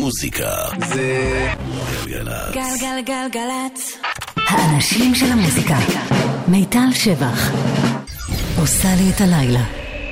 המוזיקה זה גלגלצ. גלגלגלגלצ. האנשים של המוזיקה. מיטל שבח עושה לי את הלילה.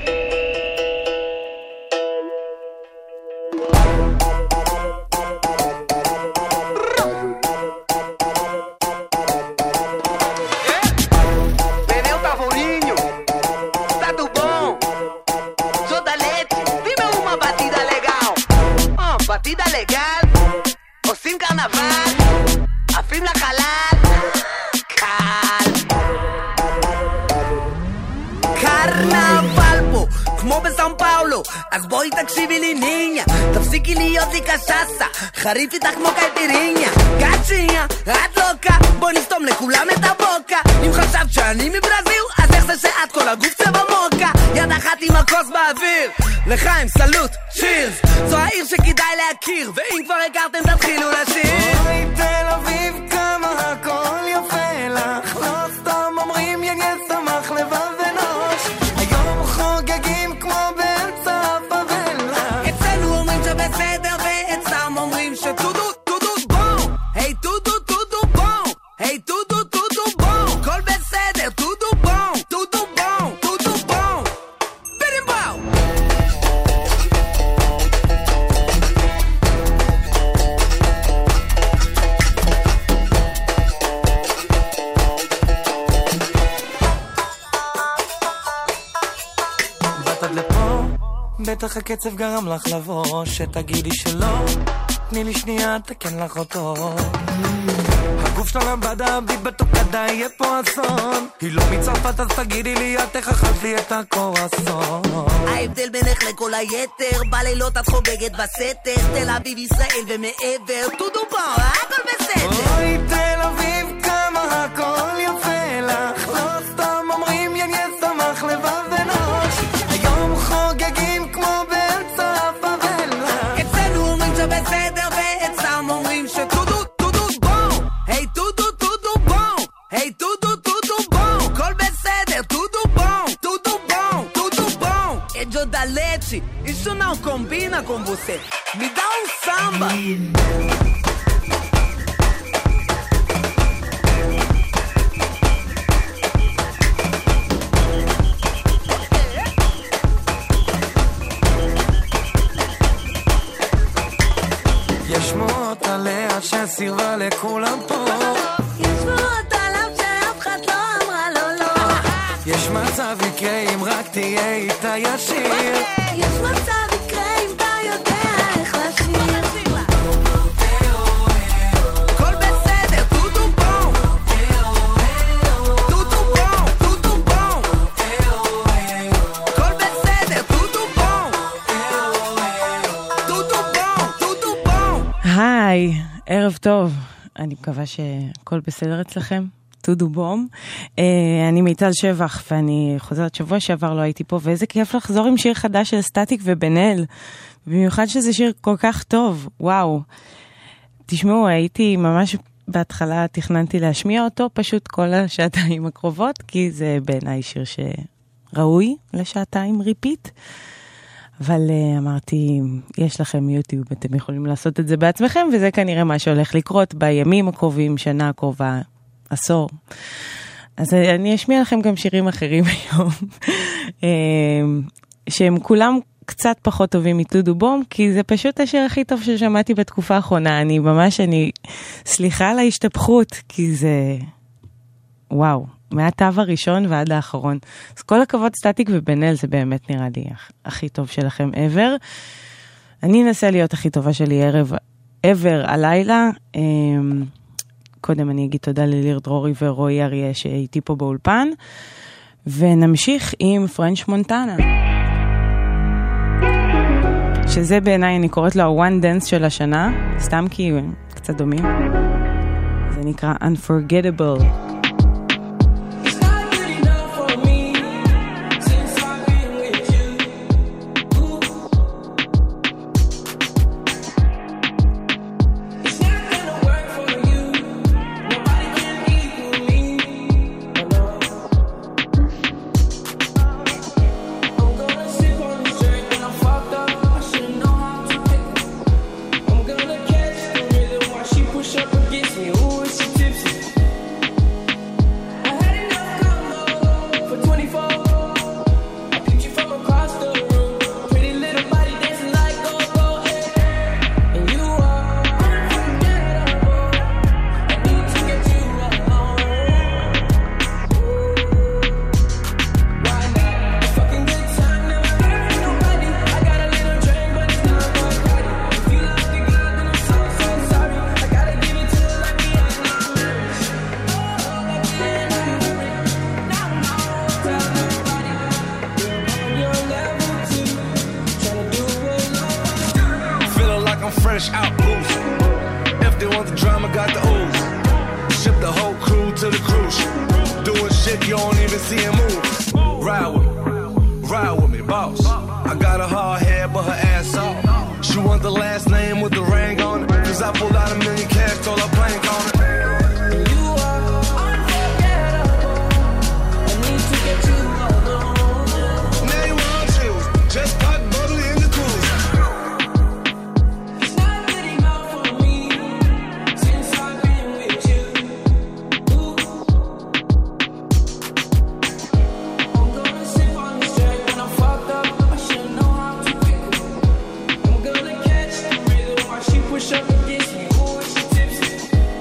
חריף איתך כמו קייפיריניה, גאצ'יניה, את לוקה, בוא נסתום לכולם את הבוקה. אם חשבת שאני מברזיל, אז איך זה שאת כל הגוף צבע מוקה? יד אחת עם הכוס באוויר, לחיים סלוט, צ'ירס. זו העיר שכדאי להכיר, ואם כבר הכרתם תתחילו לשיר. אוי תל אביב כמה הכל יפה לך, לא סתם אומרים יניה שמח לבב ונוש. היום חוגגים כמו באמצע הפאבלה, אצלנו אומרים שבסדר ואצלם אומרים שטודו טודו בום. היי טודו טודו בום, היי טודו טודו בום, כל בסדר, טודו בום, טודו בום, טודו בום, בירים בום. באת עד לפה, בטח הקצב גרם לך לבוא, שתגידי שלא, תני לי שנייה, תקן לך אותו. הגוף שלה לבדה, ביט בתוקדה, יהיה פה אסון. היא לא מצרפת, אז תגידי לי, את איך אכלת לי את הקורסון. ההבדל בינך לכל היתר, בלילות את חוגגת בסתר, תל אביב ישראל ומעבר, טודו בוא, הכל בסדר. אוי תל אביב כמה הכל יפה לך, לא סתם אומרים יניה שמח לבב ונוש. היום חוגגים כמו באמצע הפאבלה, אצלנו אומרים שבסדר ואצלם אומרים שטודו טודו בום. היי טודו טודו בום, היי טודו טודו בום, כל בסדר, טודו bom, tudo bom. É de Odalete, isso não combina com você. Me dá um samba. יש שמועות עליה שסירבה לכולם פה, יש שמועות עליו שאף אחד לא אמרה לו לא. יש מצב יקרה אם רק תהיה איתה ישיר, יש מצב יקרה אם אתה יודע איך לשיר. כל בסדר, טודו בום, טודו בום, טודו בום, כל בסדר, טודו בום, טודו בום, טודו בום. היי, ערב טוב, אני מקווה שהכל בסדר אצלכם. טודו בום. אני מיטל שבח, ואני חוזרת שבוע שעבר לא הייתי פה, ואיזה כיף לחזור עם שיר חדש של סטטיק ובן אל, במיוחד שזה שיר כל כך טוב, וואו. תשמעו, הייתי ממש בהתחלה, תכננתי להשמיע אותו, פשוט כל השעתיים הקרובות, כי זה בעיניי שיר שראוי לשעתיים ריפיט, אבל אמרתי, יש לכם יוטיוב, אתם יכולים לעשות את זה בעצמכם, וזה כנראה מה שהולך לקרות בימים הקרובים, שנה הקרובה, עשור. אז אני אשמיע לכם גם שירים אחרים היום, שהם כולם קצת פחות טובים מטודו בום, כי זה פשוט השיר הכי טוב ששמעתי בתקופה האחרונה. אני סליחה על ההשתפכות, כי זה, וואו, מהטו הראשון ועד האחרון. אז כל הכבוד סטטיק ובן אל, זה באמת נראה לי הכי טוב שלכם ever. אני אנסה להיות הכי טובה שלי ever הלילה. קודם אני אגיד תודה לליר דרורי ורועי אריה שהייתי פה באולפן, ונמשיך עם פרנץ' מונטנה, שזה בעיניי אני קוראת לו ה-one dance של השנה, סתם כי קצת דומים. זה נקרא Unforgettable. I'm gonna like I'm fresh out boost. If they want the drama, got the ooze. Ship the whole crew to the cruise. Doing shit you don't even see him move. Ride with me, boss. I got a hard head, but her ass off. She want the last name with the ring on it. Cause I pulled out $1 million cash, told her plank on it. You are unforgettable. I need to get you alone. Now you want chills, just pop bubbly in the cruise. It's not good enough for me since I've been with you. Ooh. I'm gonna sip on this drink when I'm fucked up. I should know how to pick her. I'm gonna catch the rhythm while she push up against me. Ooh, she tipsy.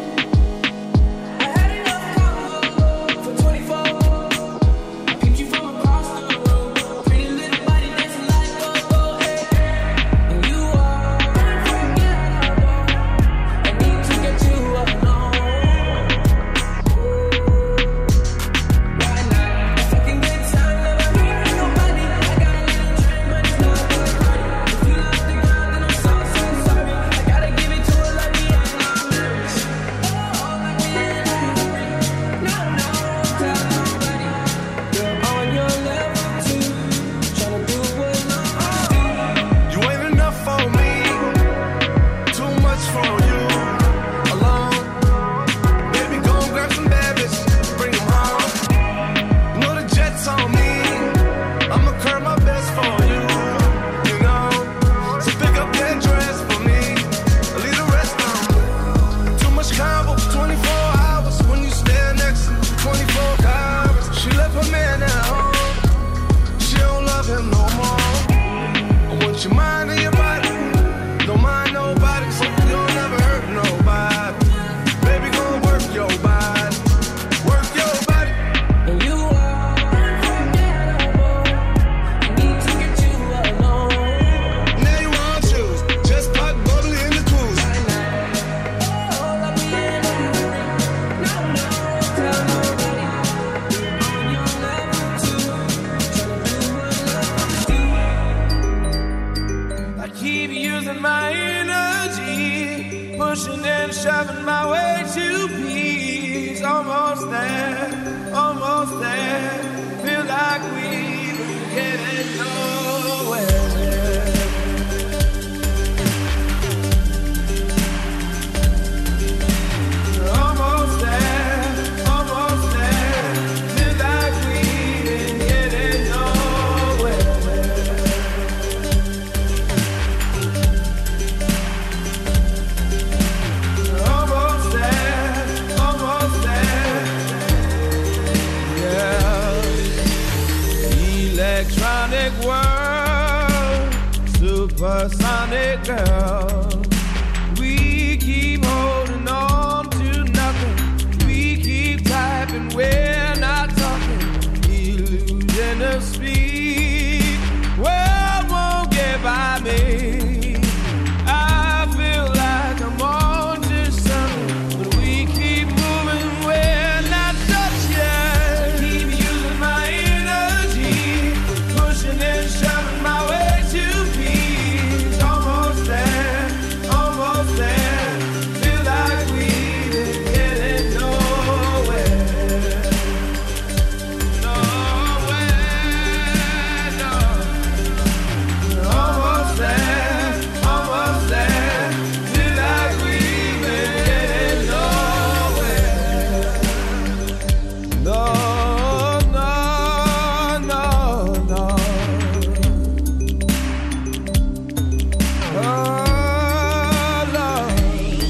I had enough combo for 24. I picked you from across the road. Pretty little body dancing like go-go, hey. And you are unforgettable. I need to get you alone. Why not? If I can get time, never hearing nobody. I got a little drink, but it's not good party. If you love the girl, then I'm so sorry. I gotta give it to her like me, I'm not nervous. Oh, like me, I'm not nervous. No, tell nobody. You're on your level too. Tryna do what I do. You ain't enough for me, too much for you. Alone, baby, go and grab some bad bitches, bring them home. You know the jet's on me, I'ma curb my best for you. You know, so pick up that dress for me, leave the rest on. Too much combo, 24 hours when you stand next to me, 24 hours. She left her man at home, she don't love him no more. I want your mind and your body, don't mind nobody, so you don't never hurt nobody. Baby, go work your body, work your body. And you are unforgettable. I need to get you alone. Now you want choose, just pop bubbly in the cruise. Oh, like we in a hurry. No, tell nobody. On your level too. Tryna do what love do. I keep using my energy, pushing and shoving my way to peace. Almost there, feel like we're getting nowhere. Almost there, feel like we're getting nowhere. Almost there, yeah. Electronic world, supersonic girl. We keep holding on to nothing. We keep typing, we're not talking. Illusion of speed, world won't get by me. I feel like I'm on to something, but we keep moving, we're not touched yet. Keep using my energy, pushing and shoving my way to peace. Almost there, feel like we didn't get it nowhere. Almost there, feel like we've been getting nowhere. No. Oh, Lord.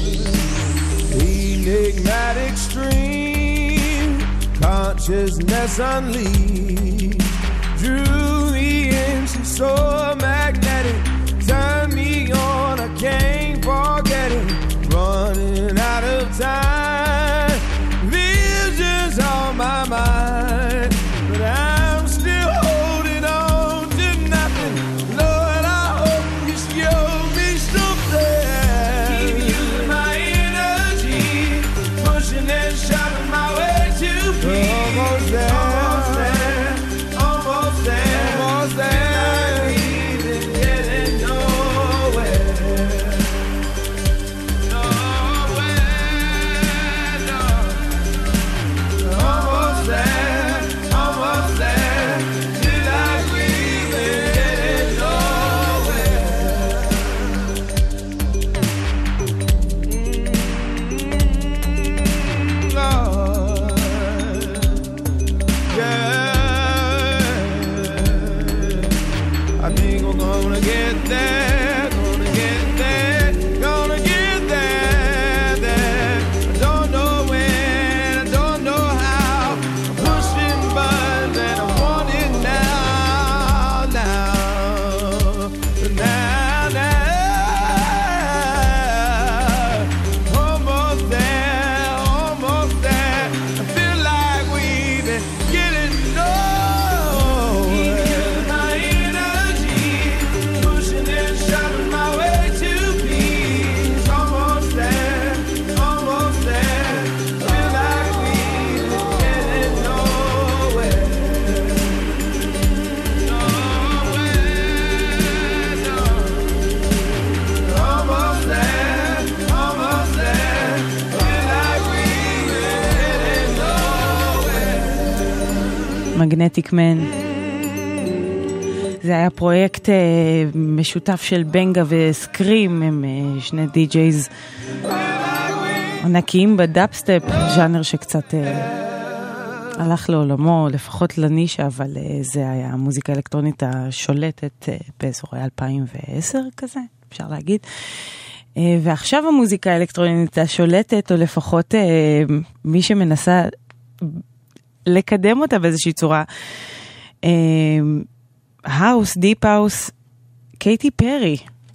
Enigmatic stream, consciousness unleashed, drew me in, she's so magnetic, turn me on, I can't forget it, running out of time, visions on my mind, but I'm still holding on to nothing, Lord, I hope you show me something. Keep using my energy, pushing and shoving my way to peace. Almost there. Feel like we didn't get it מגנטיק מן. זה היה פרויקט משותף של בנגה וסקרים, הם שני די-ג'ייז ענקיים בדאפסטפ, ז'אנר שקצת הלך לעולמו, לפחות לנישה, אבל זה היה המוזיקה האלקטרונית השולטת באזורי 2010 כזה, אפשר להגיד. ועכשיו המוזיקה האלקטרונית השולטת, או לפחות מי שמנסה לקדם אותה באיזושהי צורה, האוס, דיפ האוס, קייטי פרי.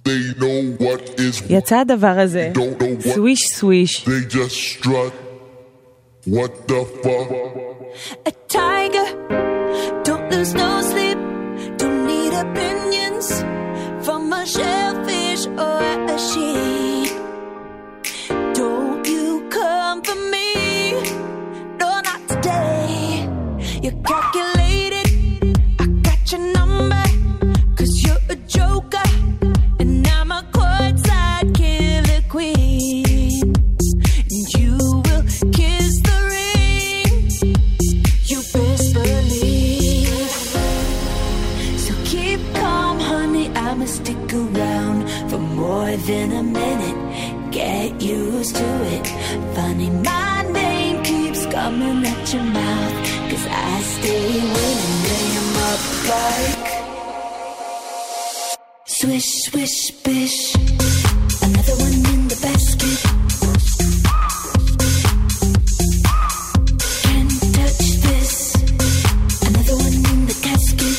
יצא הדבר הזה, סוויש סוויש. They just strut. What the fuck? A tiger, don't lose no sleep, don't need opinions from a shellfish or a sheep. Don't you come for me, no not today. You're calculated, I got your number, 'cause you're a joker, and I'm a courtside killer queen. And you will kiss the ring, you best believe. So keep calm, honey, I'ma stick around for more than a minute. Get used to it. Funny, my name keeps coming at your mouth, 'cause I stay winning. Lay 'em up like swish, swish, bish. Another one in the basket. Can't touch this. Another one in the casket.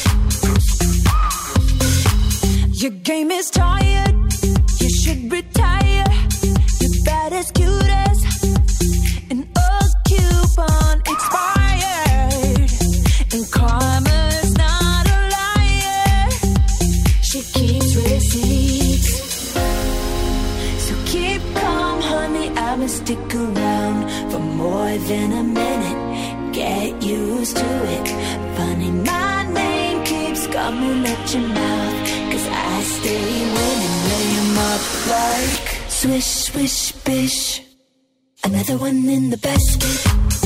Your game is tired. You should retire. You're bad as cute as an old coupon expired. And karma's not a liar. She keeps receipts. So keep calm, honey, I'ma stick around for more than a minute. Get used to it. Funny, my name keeps coming at your mouth, 'cause I stay winning. Lay 'em up like swish, swish, bish. Another one in the basket.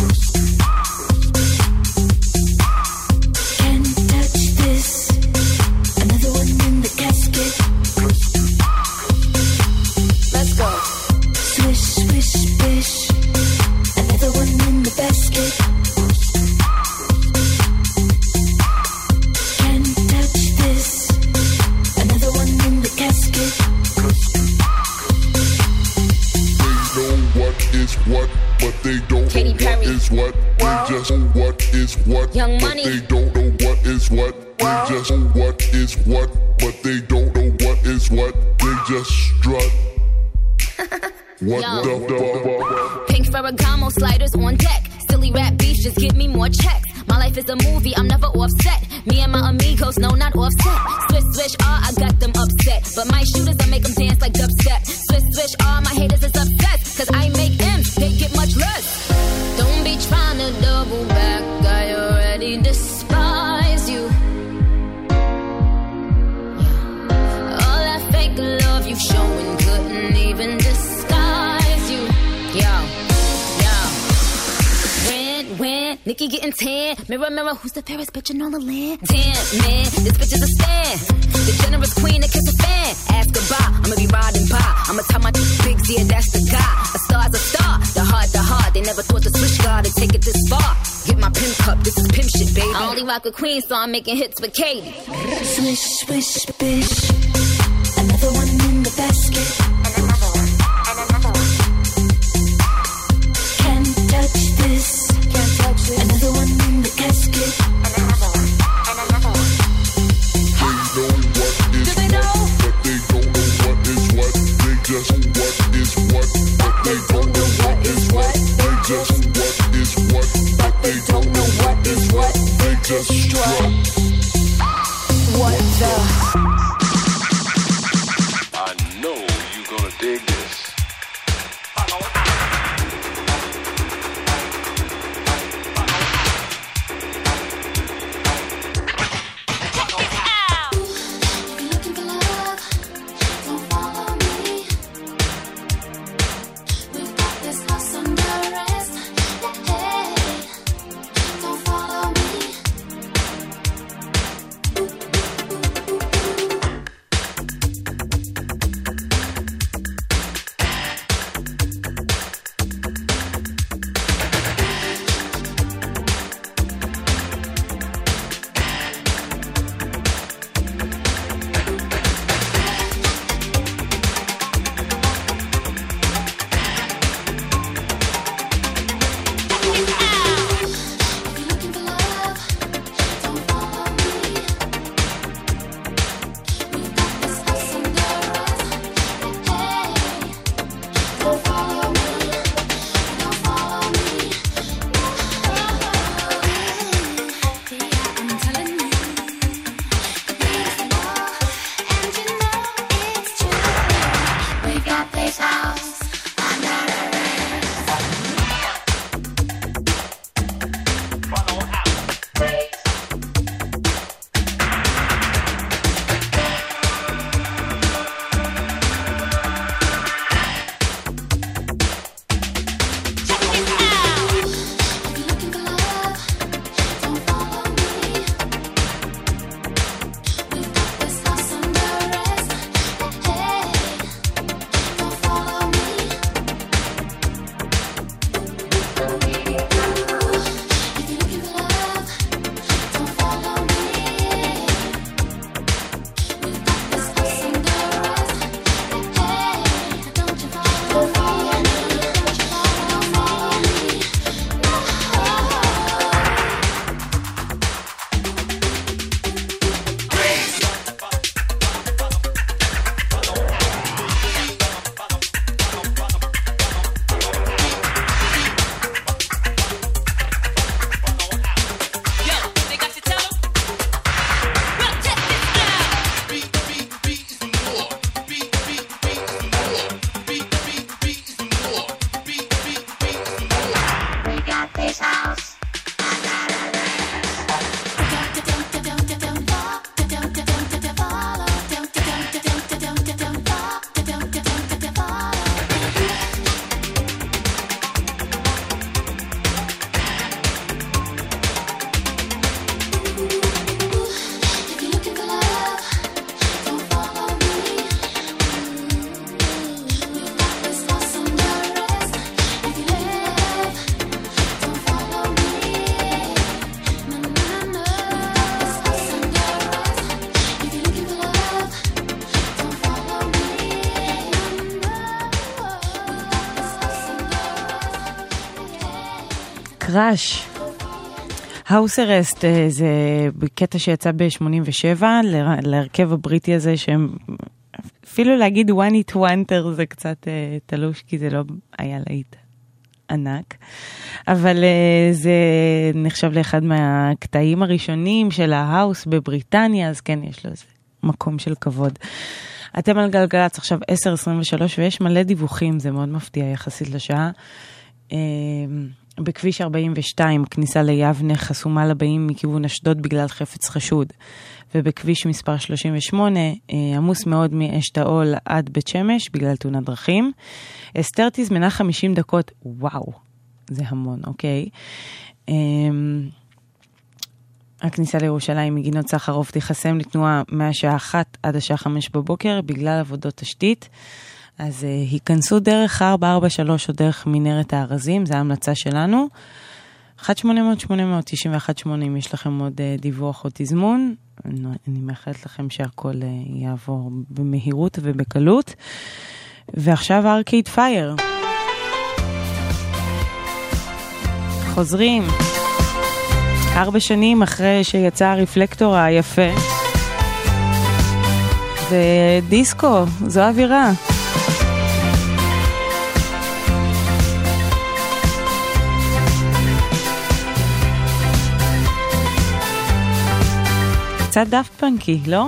Can't touch this. Another one in the casket. Let's go. Swish, swish, bish. Another one in the basket. Can't touch this. Another one in the casket. They know what is what, but they don't Katy know what Perry. is what. They just know what is what, Young but Money. they don't know what is what. They just know what is what, but they don't know what is what. They just strut. What Yo. the fuck? Pink Ferragamo sliders on deck. Silly rap beefs just give me more checks. My life is a movie, I'm never offset. Me and my amigos, no, not offset. Swish, swish, I got them upset. But my shooters, I make them dance like dubstep. Swish, swish, my haters is upset. 'Cause I make M's, they get much less. Don't be trying to double back, I already despise you. Yeah. All that fake love you showing couldn't even disguise you. Yo. When Nikki getting tan, mirror, mirror, who's the fairest bitch in all the land? Damn, man, this bitch is a stan. The generous queen that kiss a fan. Ask goodbye, I'ma be riding by. I'ma tell my bigs, yeah, that's the guy. A star's a star, the heart. They never thought the switch guard would take it this far. Get my pimp cup, this is pimp shit, baby. I only rock with Queen, so I'm making hits with Katy. Swish, swish, bish. Another one in the basket. Can't touch this. Another one in the casket. They know what is what, but they don't know what is what. They just know what is what, but they don't know what is what. They just know what is what, but they don't know what is what. They just strut. What the? I know you're gonna dig this. Awesome, the rest. Hey, don't follow me. קראש. האוס ארסט זה קטע שיצא ב-87 להרכב הבריטי הזה שהם אפילו להגיד one hit wonder זה קצת תלוש כי זה לא היה להיט ענק, אבל זה נחשב לאחד מהקטעים הראשונים של ההאוס בבריטניה, אז כן יש לו איזה מקום של כבוד. אתם על גלגלץ עכשיו 10:23 ויש מלא דיווחים, זה מאוד מפתיע יחסית לשעה. בכביש 42, כניסה ליבנה חסומה לבאים מכיוון אשדוד בגלל חפץ חשוד. ובכביש מספר 38, עמוס מאוד מאשתאול עד בית שמש בגלל תאונת דרכים. אסתר תזמנה 50 דקות, וואו, זה המון, אוקיי. הכניסה לירושלים מגינות סחרוף תיחסם לתנועה מהשעה 1 עד השעה 5 בבוקר בגלל עבודות תשתית. אז היכנסו דרך 443 או דרך מנהרת הארזים, זו ההמלצה שלנו. 1-800-891-8, אם יש לכם עוד דיווח או תזמון, אני מאחלת לכם שהכל יעבור במהירות ובקלות. ועכשיו ארקייד פייר. חוזרים. 4 שנים אחרי שיצא הרפלקטור היפה. ודיסקו, זו אווירה. קצת דאפט פאנקי, לא?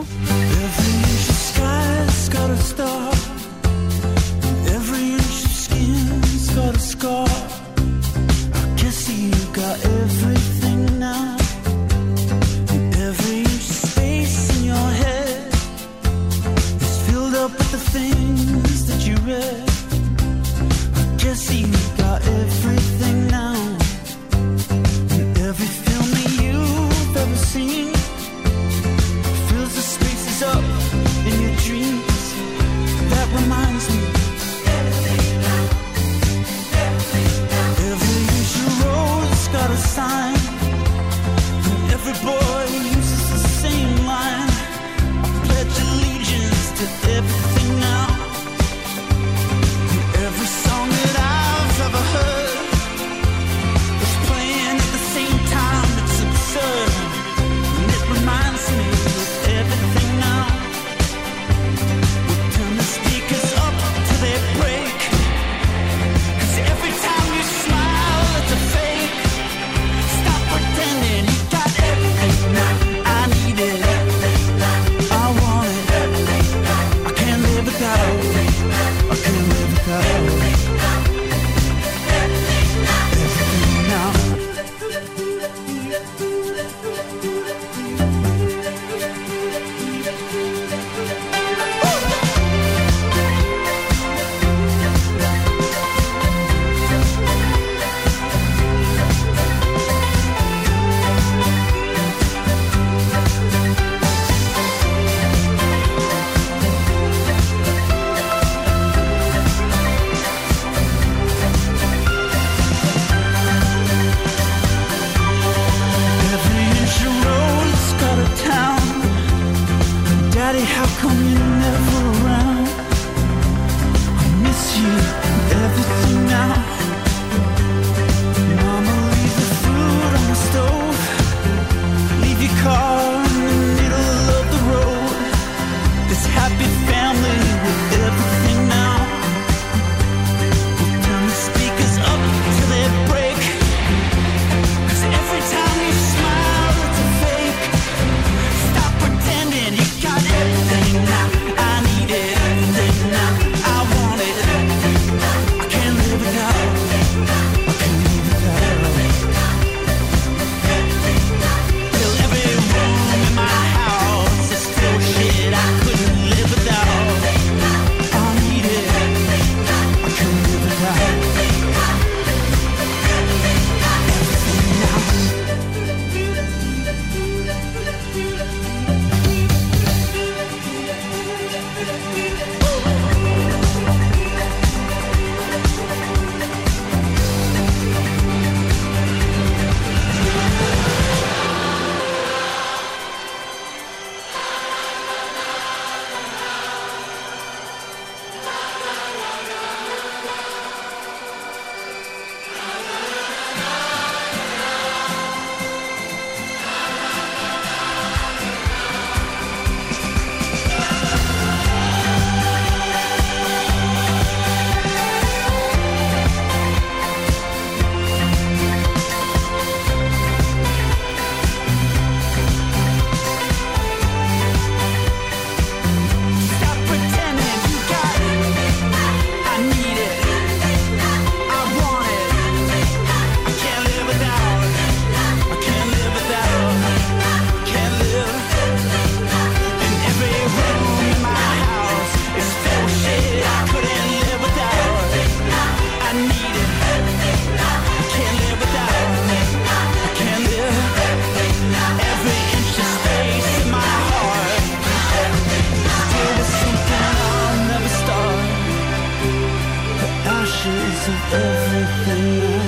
pictures of everything now,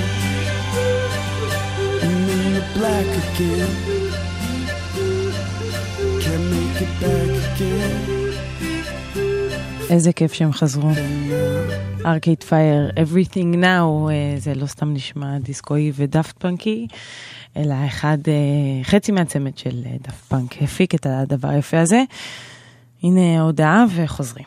and then you're black again. Can't make it back again. איזה כיף שהם חזרו. Arcade Fire, Everything Now, זה לא סתם נשמע דיסקוי ודאפט פאנקי, אלא חצי מהצמד של דאפט פאנק הפיק את הדבר היפה הזה. הנה ההודעה וחוזרים.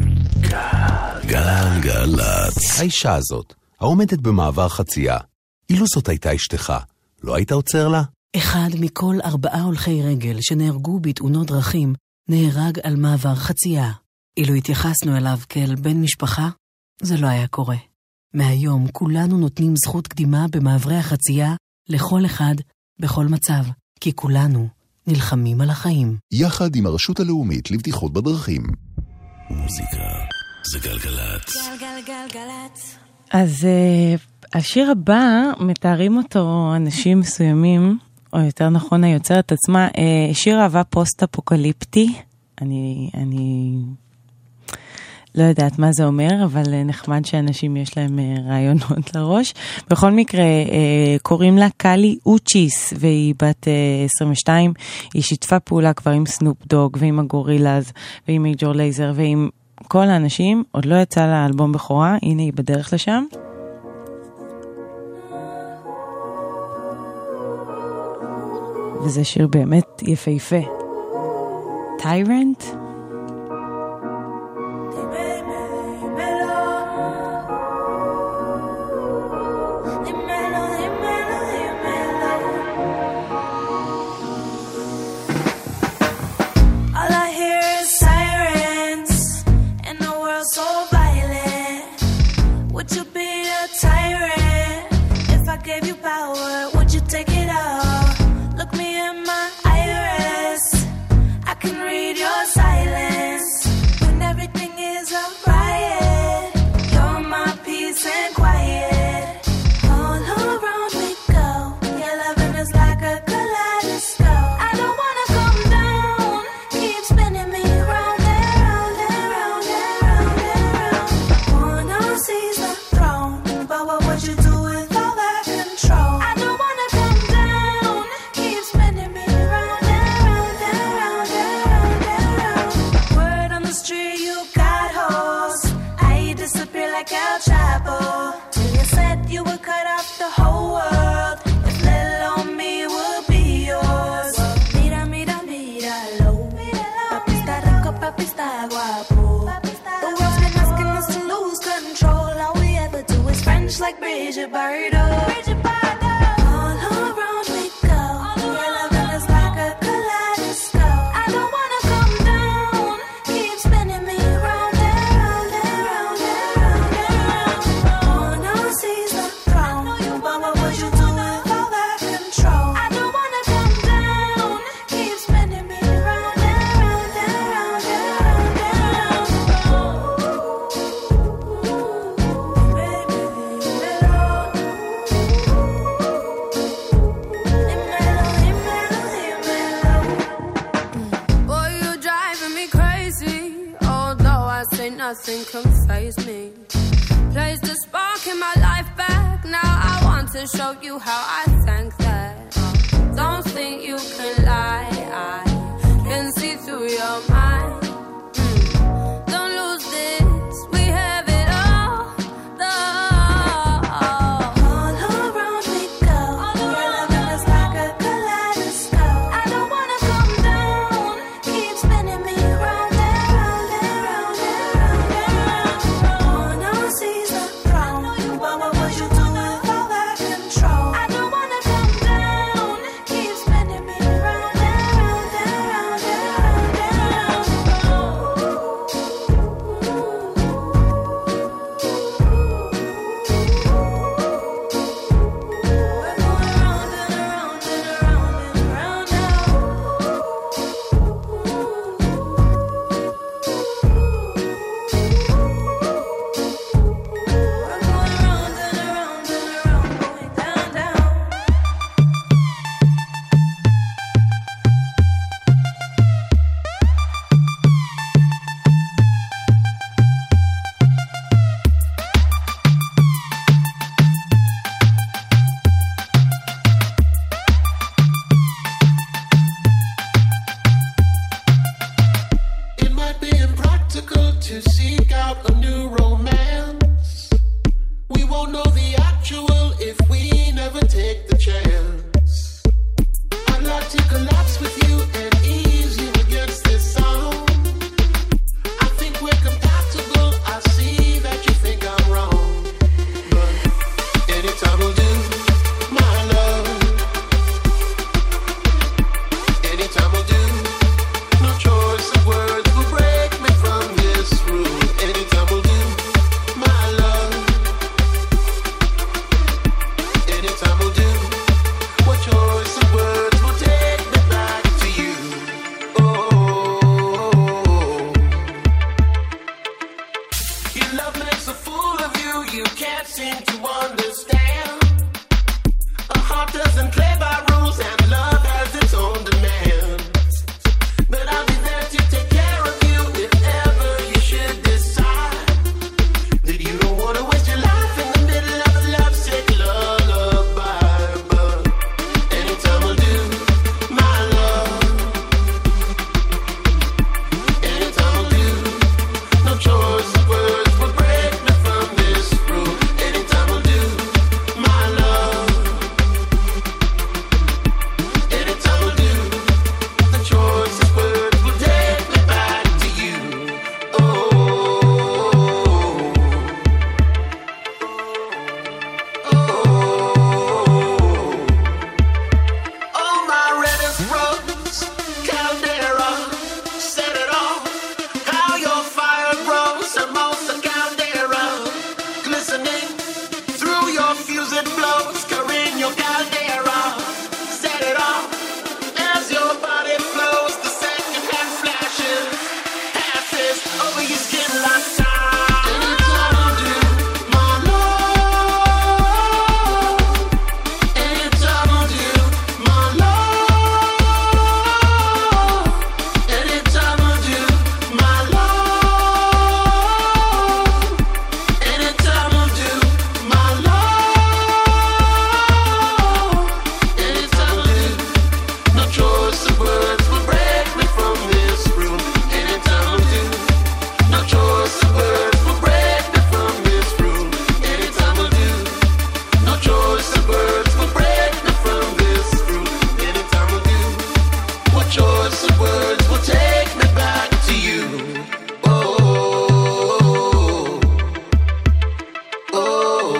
גלגלצ. האישה הזאת, העומדת במעבר חצייה, אילו זאת הייתה אשתך, לא היית עוצר לה? 1 מכל 4 הולכי רגל שנהרגו בתאונות דרכים, נהרג על מעבר חצייה. אילו התייחסנו אליו כאל בן משפחה, זה לא היה קורה. מהיום כולנו נותנים זכות קדימה במעברי החצייה לכל אחד, בכל מצב, כי כולנו נלחמים על החיים. יחד עם הרשות הלאומית לבטיחות בדרכים. מוזיקה זה גלגלצ. גלגלגלגלצ. אז השיר הבא מתארים אותו אנשים מסוימים, או יותר נכון היוצרת עצמה, שיר אהבה פוסט-אפוקליפטי. אני לא יודעת מה זה אומר, אבל נחמד שאנשים יש להם רעיונות לראש. בכל מקרה, קוראים לה קלי אוצ'יס, והיא בת 22. היא שיתפה פעולה כבר עם סנופ דוג, ועם הגורילאז, ועם מייג'ור לייזר, ועם כל האנשים. עוד לא יצא לה אלבום בכורה, הנה היא בדרך לשם. וזה שיר באמת יפהפה. Tyrant? Like Bridget Bardot. All around we go. Your loving is like a kaleidoscope. I don't wanna come down. Keep spinning me round and round and round and round and round. No one sees the throne. But what would you do with all that control? I don't wanna come down. Keep spinning me round and round and round and round and round. Nothing can faze me. Place the spark in my life back. Now I want to show you how I thank that. Don't think you can lie. I can see through your mind. Don't lose this. We have it all. All around we go. Your loving is like a kaleidoscope. I don't wanna come down. Keep spinning me round and round and round and round. No one sees the throne. But what would you do with all that control? I don't wanna come down. Keep spinning me seem to understand. A heart doesn't play by rules and love has its own demands. But I'll be there to take care of you if ever you should decide that you don't want to waste your life in the middle of a lovesick lullaby. But anytime I'll do my love, anytime I'll do, no choice of words will break me from this rule. Anytime I'll do my love, anytime I'll do, the choice of words will take me back to you. Oh, my reddest rose, Caldera, set it off. How your fire grows, Hermosa Caldera, glistening through your fuse it blows. Carino Caldera, set it off. As your body flows, the second hand flashes, passes over your skin like time. Anytime I'll do my love, anytime I'll do my love, anytime I'll do my love, anytime I'll do my love, anytime I'll do, no choice of words will break me from this room. Anytime I'll do, no choice of words will break me from this room. Anytime I'll do, no choice of words will break me from this room. Anytime I'll do, what choice of words will take me back to you? Oh, oh,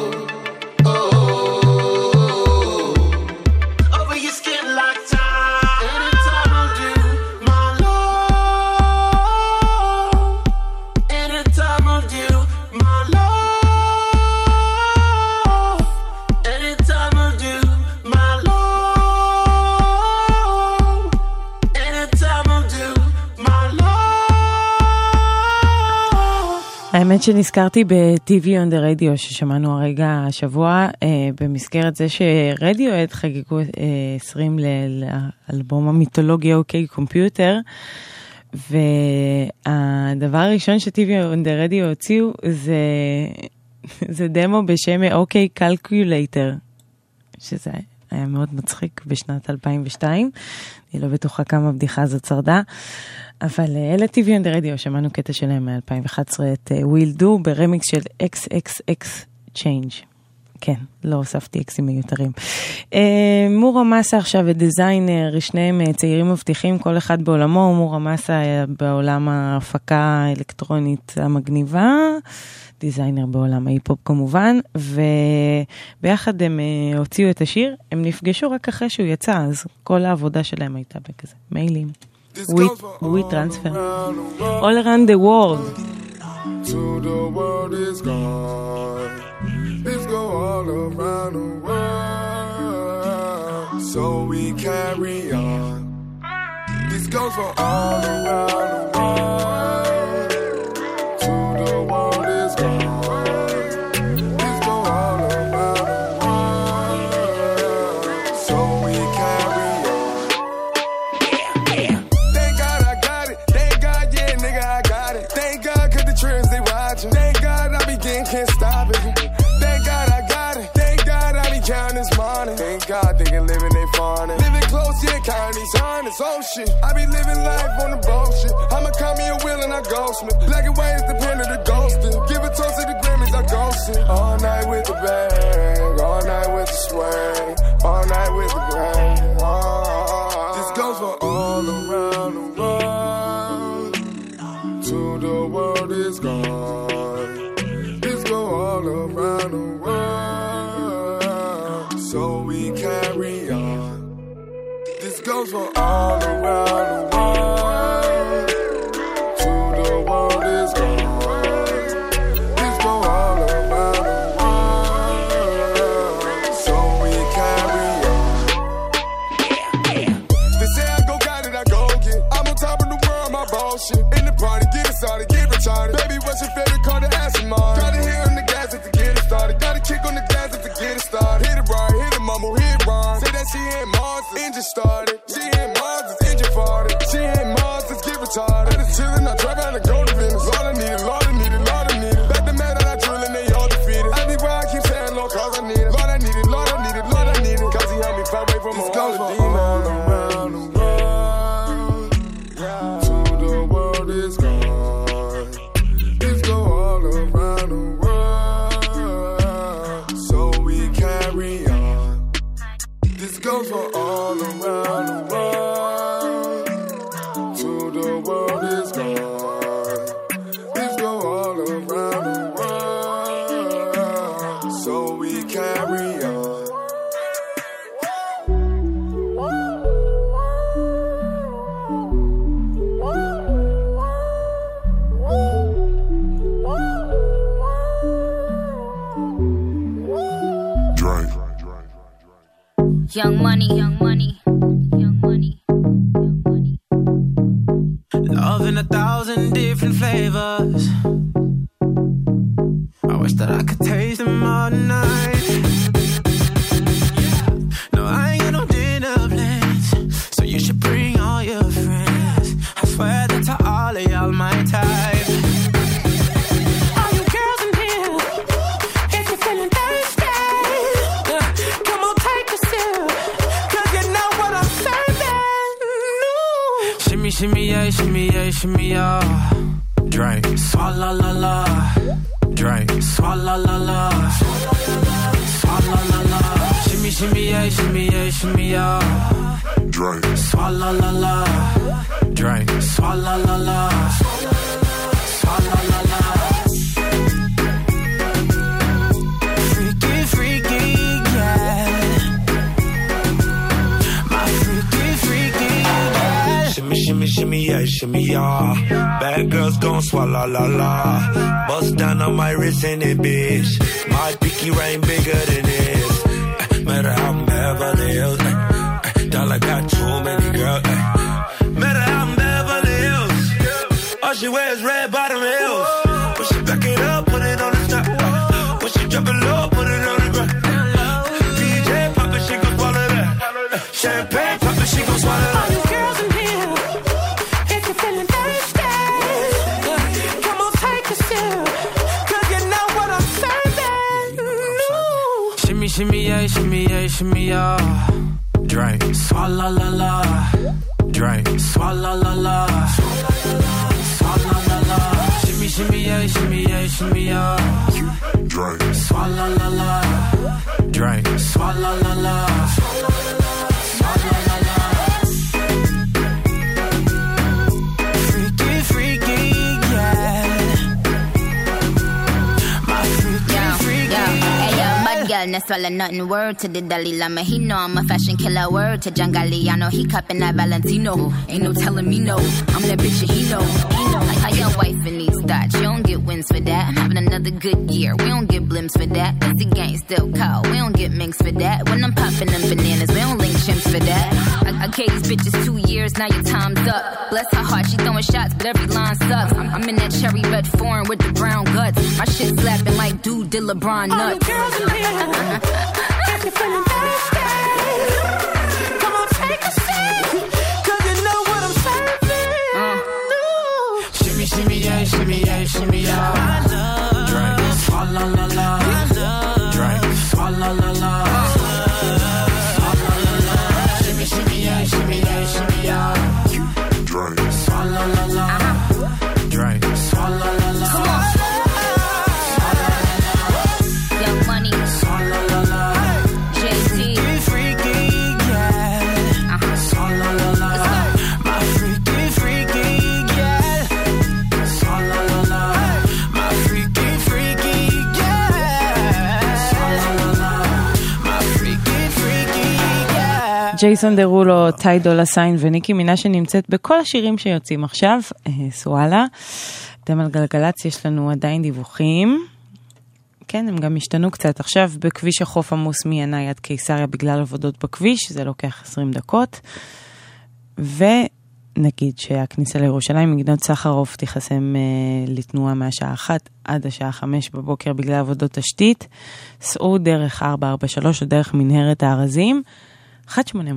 oh, over your skin like time. Anytime I'll do my love, anytime I'll do my love, anytime I'll do my love, anytime I'll do my love. האמת שנזכרתי ב-TV on the radio ששמענו הרגע השבוע, במסגרת זה שרדיואד חגגו 20 לאלבום המיתולוגיה אוקיי קומפיוטר, והדבר הראשון ש-TV on the radio הוציאו זה דמו בשם אוקיי קלקולייטר, שזה היה מאוד מצחיק בשנת 2002, אני לא בטוחה כמה הבדיחה הזאת שרדה, אבל אלה TV on the radio, שמענו קטע שלהם מ-2011, את Will Do ברמיקס של XXX Change. כן, לא הוספתי אקסים מיותרים. מורה מסה עכשיו ודיזיינר, שניהם צעירים מבטיחים, כל אחד בעולמו. מורה מסה בעולם ההפקה האלקטרונית המגניבה, דיזיינר בעולם ההיפ-הופ כמובן, וביחד הם הוציאו את השיר, הם נפגשו רק אחרי שהוא יצא, אז כל העבודה שלהם הייתה בכזה מיילים. We transfer all around the world. To the world is gone. This go all around the world. So we carry on. This goes for all around the world. To the world is gone. This go all around the world. So we carry on. Thank God I got it. Thank God, yeah, nigga, I got it. Thank God, cause the trends they watching. Thank God I begin, can't stop it. Thank God I got it. Thank God I be counting this money. Thank God they can live in they fawning. Living close, yeah, counting these hundreds. Oh shit, I be living life on the bullshit. I'ma call me a wheel and I ghost me. Black and white is the pen of the ghosting. Give a toast to the Grammys, I ghosting. All night with the bang, all night with the swing, all night with the bang. This goes for all around the world. To the world is gone. This go all around the world. So we carry on. This goes for all around the world. To the world is gone. This go all around the world. So we carry on. They say I go got it, I go get. I'm on top of the world, my bullshit. In the party, get started, get retarded. Baby, what's your favorite car to ask him on? Gotta hit on the gas to get it started. Gotta just started. She ain't Mars, it's engine farted. She ain't Mars, let's get retarded. I just chillin', I trap out and go to Venice. Lord, I need it, Lord, I need it, Lord, I need it. Back the man that I drill and they all defeated. I be where I keep saying, Lord, cause I need it. Lord, I need it, Lord, I need it, Lord, I need it. Cause he helped me fight away from all the demons. All around the world, to the world is gone. This go all around the world, so we carry on. This goes for all around the world, to the world is gone. This go all around the world, so we carry on. Young money, young money, young money, young money. Love in 1,000 different flavors. I wish that I could taste them all night. No, I ain't got no dinner plans, so you should bring all your friends. I swear that to all of y'all my type. All you girls in here, if you're feeling thirsty, come on, take a sip, 'cause you know what I'm serving. No. Shimmy, shimmy, yeah, shimmy, yeah, shimmy, yeah. Drink, swalla la la. Drink, swalla la la. Swalla la la. Shimmy, shimmy, yeah, shimmy, yeah, shimmy, yeah. Drink, swalla la la. Drink, swalla la la. Swalla la la. Freaky, freaky, yeah. My freaky, freaky, yeah. Shimmy, shimmy, shimmy, yeah, shimmy, yeah. Bad girls gon' swallow la la. Bust down on my wrist in it, bitch. My pinky ring bigger than this. Matter how I'm Beverly Hills. Dollar got too many girls. Matter how I'm Beverly Hills. All she wears red bottom heels. When she back it up, put it on the top. When she drop it low, put it on the ground. DJ pop it, she gon' swallow that. Champagne pop it, she gon' swallow that. All you girls in here, if you're feeling thirsty, come on, take a sip, 'cause you know what I'm serving. No. Shimmy, shimmy, yeah, shimmy, yeah, shimmy, yeah. Drink, swalla la la. Drink, swalla la la. Swalla la la. Shimmy, shimmy, yeah, shimmy, yeah, shimmy, yeah. Drink, swalla la la. Drink, swalla la la. Swalla la la. Freaky, freaky, yeah. My freaky, freaky, Hey, yo, mud girl, no swallow nothing. Word to the Dalai Lama, he know I'm a fashion killer. Word to John Galliano, he cupping that Valentino. Ain't no telling me no, I'm that bitch that he know. Like how your wife in these thoughts, you don't get wins for that. I'm having another good year, we don't get blimps for that. This gang still cold, we don't get minks for that. When I'm popping them bananas, we don't link chimps for that. I gave these bitches 2 years, now your time's up. Bless her heart, she throwing shots, but every line sucks. I'm in that cherry red foreign with the brown guts. My shit slapping like dude did LeBron nuts. all you girls in here, if you're feeling thirsty, come on, take a sip, 'cause you know what I'm serving. No. Shimmy, shimmy, yeah, shimmy, yeah, shimmy, yeah. Drink, swalla la la. Drink, swalla la la. Swalla la la. Shimmy, shimmy, yeah, shimmy, yeah, shimmy, yeah. Drink, swalla la la. Drink, swalla la la. Come on. Young money, Swalla la la. Jay-Z. Freaky, yeah. Swalla la la. My freaky, freaky, yeah. Swalla la la. My freaky, freaky, yeah. Swalla la la. My freaky, freaky, yeah. ג'ייסון דרולו, טי דולה סיין וניקי מינה שנמצאת בכל השירים שיוצאים עכשיו. סואלה. אתם על גלגלץ, יש לנו עדיין דיווחים. כן, הם גם השתנו קצת. עכשיו בכביש החוף עמוס מינאי עד קיסריה בגלל עבודות בכביש, זה לוקח 20 דקות. ונגיד שהכניסה לירושלים מגדות סחרוף תיחסם לתנועה מהשעה 1 עד השעה 5 בבוקר בגלל עבודות תשתית. סעו דרך 443 או דרך מנהרת הארזים. 1-800-891-8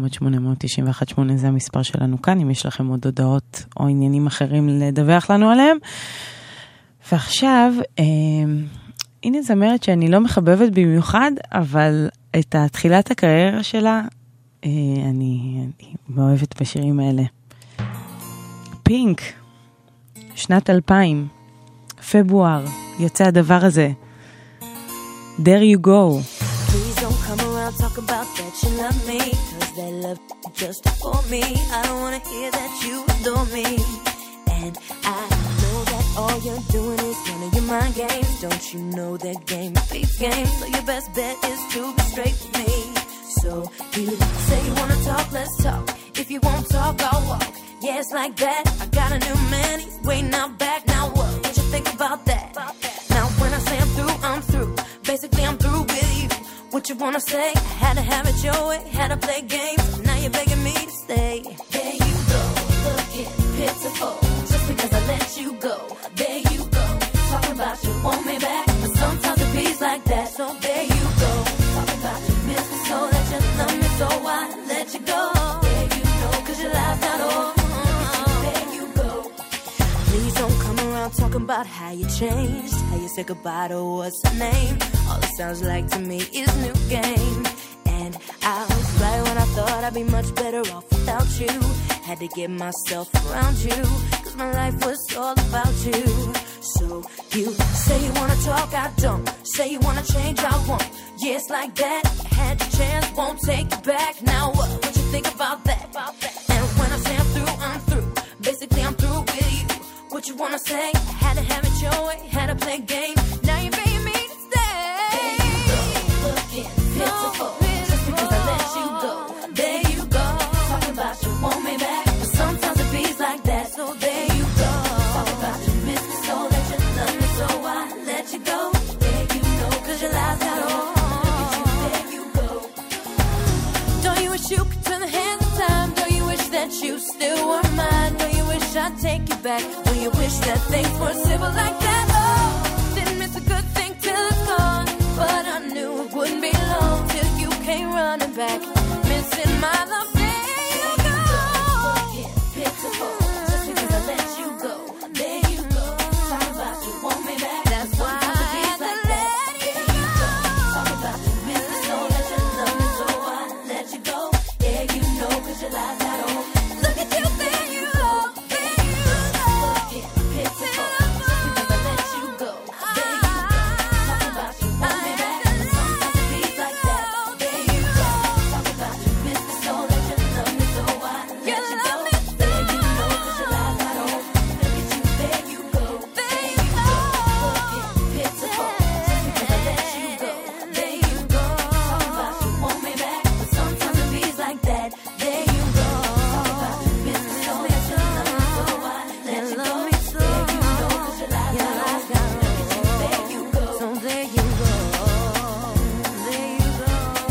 זה המספר שלנו כאן, אם יש לכם עוד הודעות או עניינים אחרים לדווח לנו עליהם. ועכשיו, הנה זמרת שאני לא מחבבת במיוחד, אבל את תחילת הקריירה שלה, אני מאוהבת בשירים האלה. פינק, שנת 2000, פברואר, יוצא הדבר הזה. There you go. Please don't come around talk about that you love me, cause that love just for me. I don't wanna hear that you adore me. And I know that all you're doing is one of your mind games. Don't you know that game beats game? So your best bet is to be straight with me. So you say you wanna talk, let's talk. If you won't talk, I'll walk. Yeah, it's like that. I got a new man, he's waiting out back. Now what you think about that? Now when I say I'm through, I'm through. Basically I'm through with you. What you wanna say? I had to have it your way, had to play games. Now you're begging me to stay. There you go, looking pitiful. Just because I let you go. There you go, talking about you want me back. But sometimes it beats like that. So there you go, talking about you miss me so that you love me so I let you go. There you go, cause your life's not over. There you go. Please don't come around talking about how you changed, how you said goodbye to what's her name. All it sounds like to me is new game. And I was right when I thought I'd be much better off without you. Had to get myself around you, cause my life was all about you. So you say you wanna talk, I don't. Say you wanna change, I won't. Yeah, it's like that. Had your chance, won't take it back. Now what you think about that? And when I say I'm through, I'm through. Basically I'm through with you. What you wanna say? Had to have it your way, had to play game. Now you're begging me to stay. There you go, looking pitiful. Just because I let you go. There you go, talking about you want me back. But sometimes it beats like that. So there you go, talking about you miss me so that you love me so I let you go. There you know, cause your life's got on. There you go. Don't you wish you could turn the hands of time? Don't you wish that you still were mine? Don't you wish I'd take you back? Don't you wish that things were simple like that? Oh, didn't miss a good thing till it's gone. But I knew it wouldn't be long till you came running back. Missing my love, there you go. Pitiful, just because I let you go. There you go, talk about you want me back. That's why I had to let you go. Talk about you miss me so that you love me so I let you go. Yeah, you know, cause your life's not over. Look at you, there you go. There you go. Pitiful, just because I let you go. There you go, talk about you want me back. Sometimes it beats like that. There you go, talk about you miss me so that you love me so I let you go. There you know, cause your life's not over. Look at you, there you go. There you go, pitiful, just because I let you go. There you go, talk about you want me back. But sometimes it beats like that. There you go, talk about you miss me so that you love me so I let you go. There you know, cause your life's not over. Look at you, there you go. So there you go, there you go.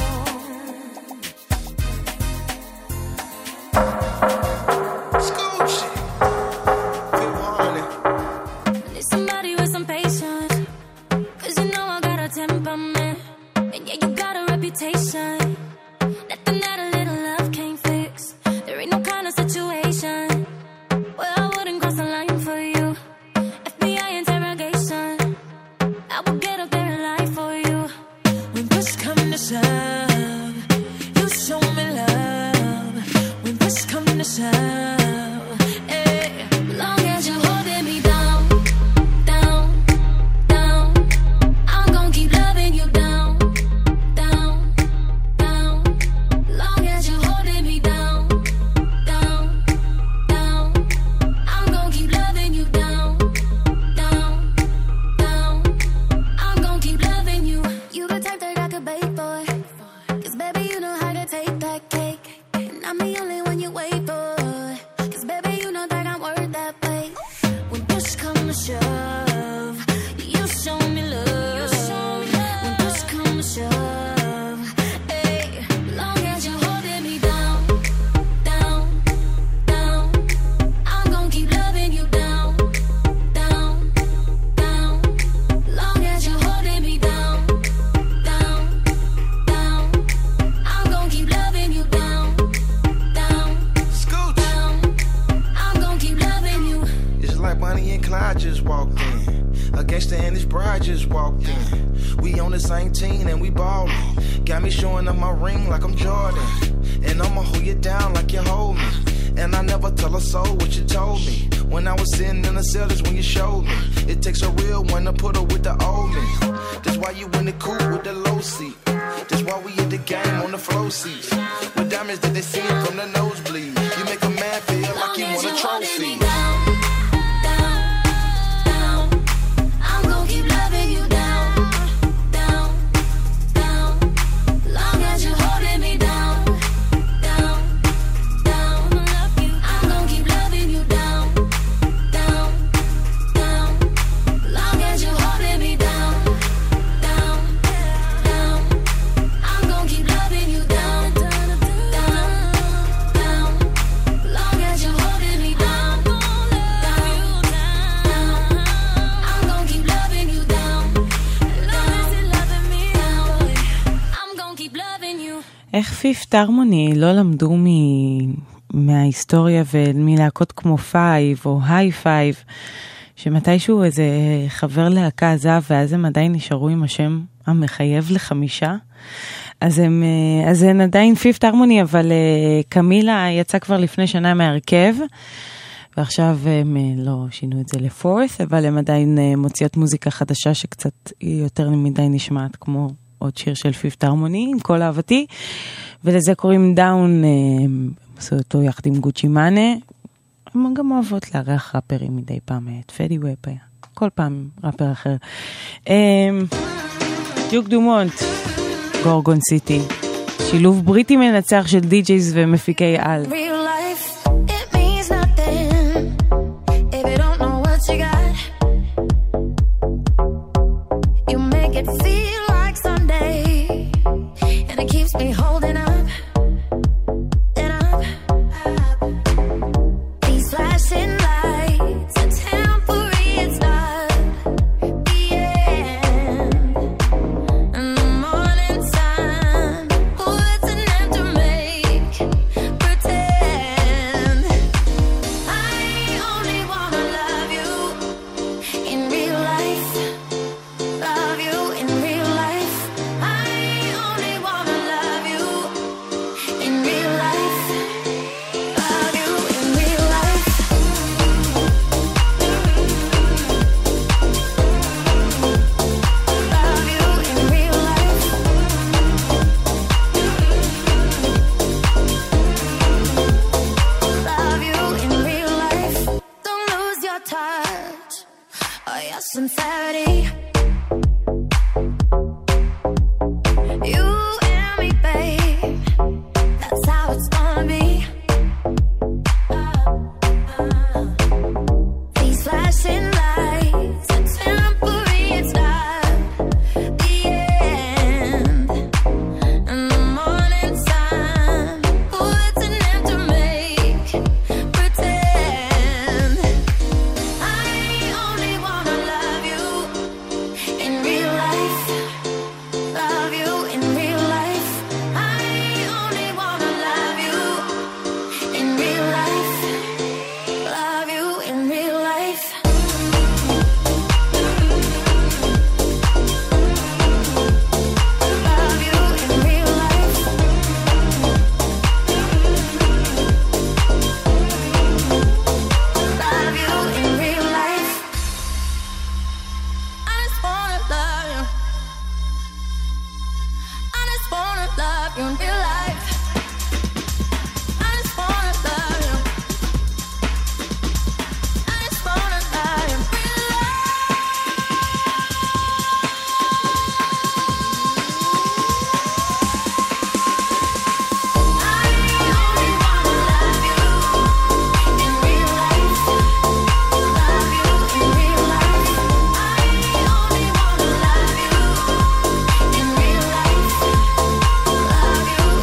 Need somebody with some patience, cause you know I got a temperament. And yeah, you got a reputation. Nothing that a little love can't fix. There ain't no kind of situation where I wouldn't cross the line for you. FBI interrogation, I would get up there and lie for you. When push come to shove, you show me love. When push come to shove, eh. Long as you're holding me down, down, down, I'm gon' keep loving you down, down, down. Long walked in. We on the same team and we ballin'. Got me showing up my ring like I'm Jordan. And I'ma hold you down like you hold me. And I never tell a soul what you told me. When I was sitting in the cell, that's when you showed me. It takes a real one to put her with the old me. That's why you in the coupe with the low seat. That's why we at the game on the flow seats. With diamonds that they see from the nosebleed. You make a man feel like he want a trophy. איך פיפט הרמוני לא למדו מההיסטוריה ומלהקות כמו פייב או היי פייב, שמתישהו איזה חבר להקה עזב ואז הם עדיין נשארו עם השם המחייב לחמישה, אז הן עדיין פיפט הרמוני, אבל קמילה יצא כבר לפני שנה מהרכב, ועכשיו הם לא שינו את זה לפורס, אבל הם עדיין מוציאות מוזיקה חדשה שקצת יותר מדי נשמעת כמו עוד שיר של פיפט הרמוני, עם כל אהבתי, ולזה קוראים דאון, עשו אותו יחד עם גוצ'י מאנה, הם גם אוהבות לארח ראפרים מדי פעם, את פדי ווב היה, כל פעם ראפר אחר. דיוק דומונט, גורגון סיטי, שילוב בריטי מנצח של די-ג'ייז ומפיקי על. Me holding up and up. These flashing lights, a temporary, it's not the end. And the morning sun, what's an end to make pretend? I only wanna love you in real life, love you in real life. I only wanna love you in real life, love you in real life. Love you in real life. Love you in real life. Don't lose your touch or your sincerity. You and me, babe, that's how it's gonna be. These flashing lights, a temporary, it's not the end. And the morning sun, what's an end to make pretend? I only wanna love you in real life, love you in real life. I only wanna love you in real life, love you in real life. Love you in real life. Love you in real life. I just wanna love you. I just wanna love you in real life. I just wanna love you. I just wanna love you in real life.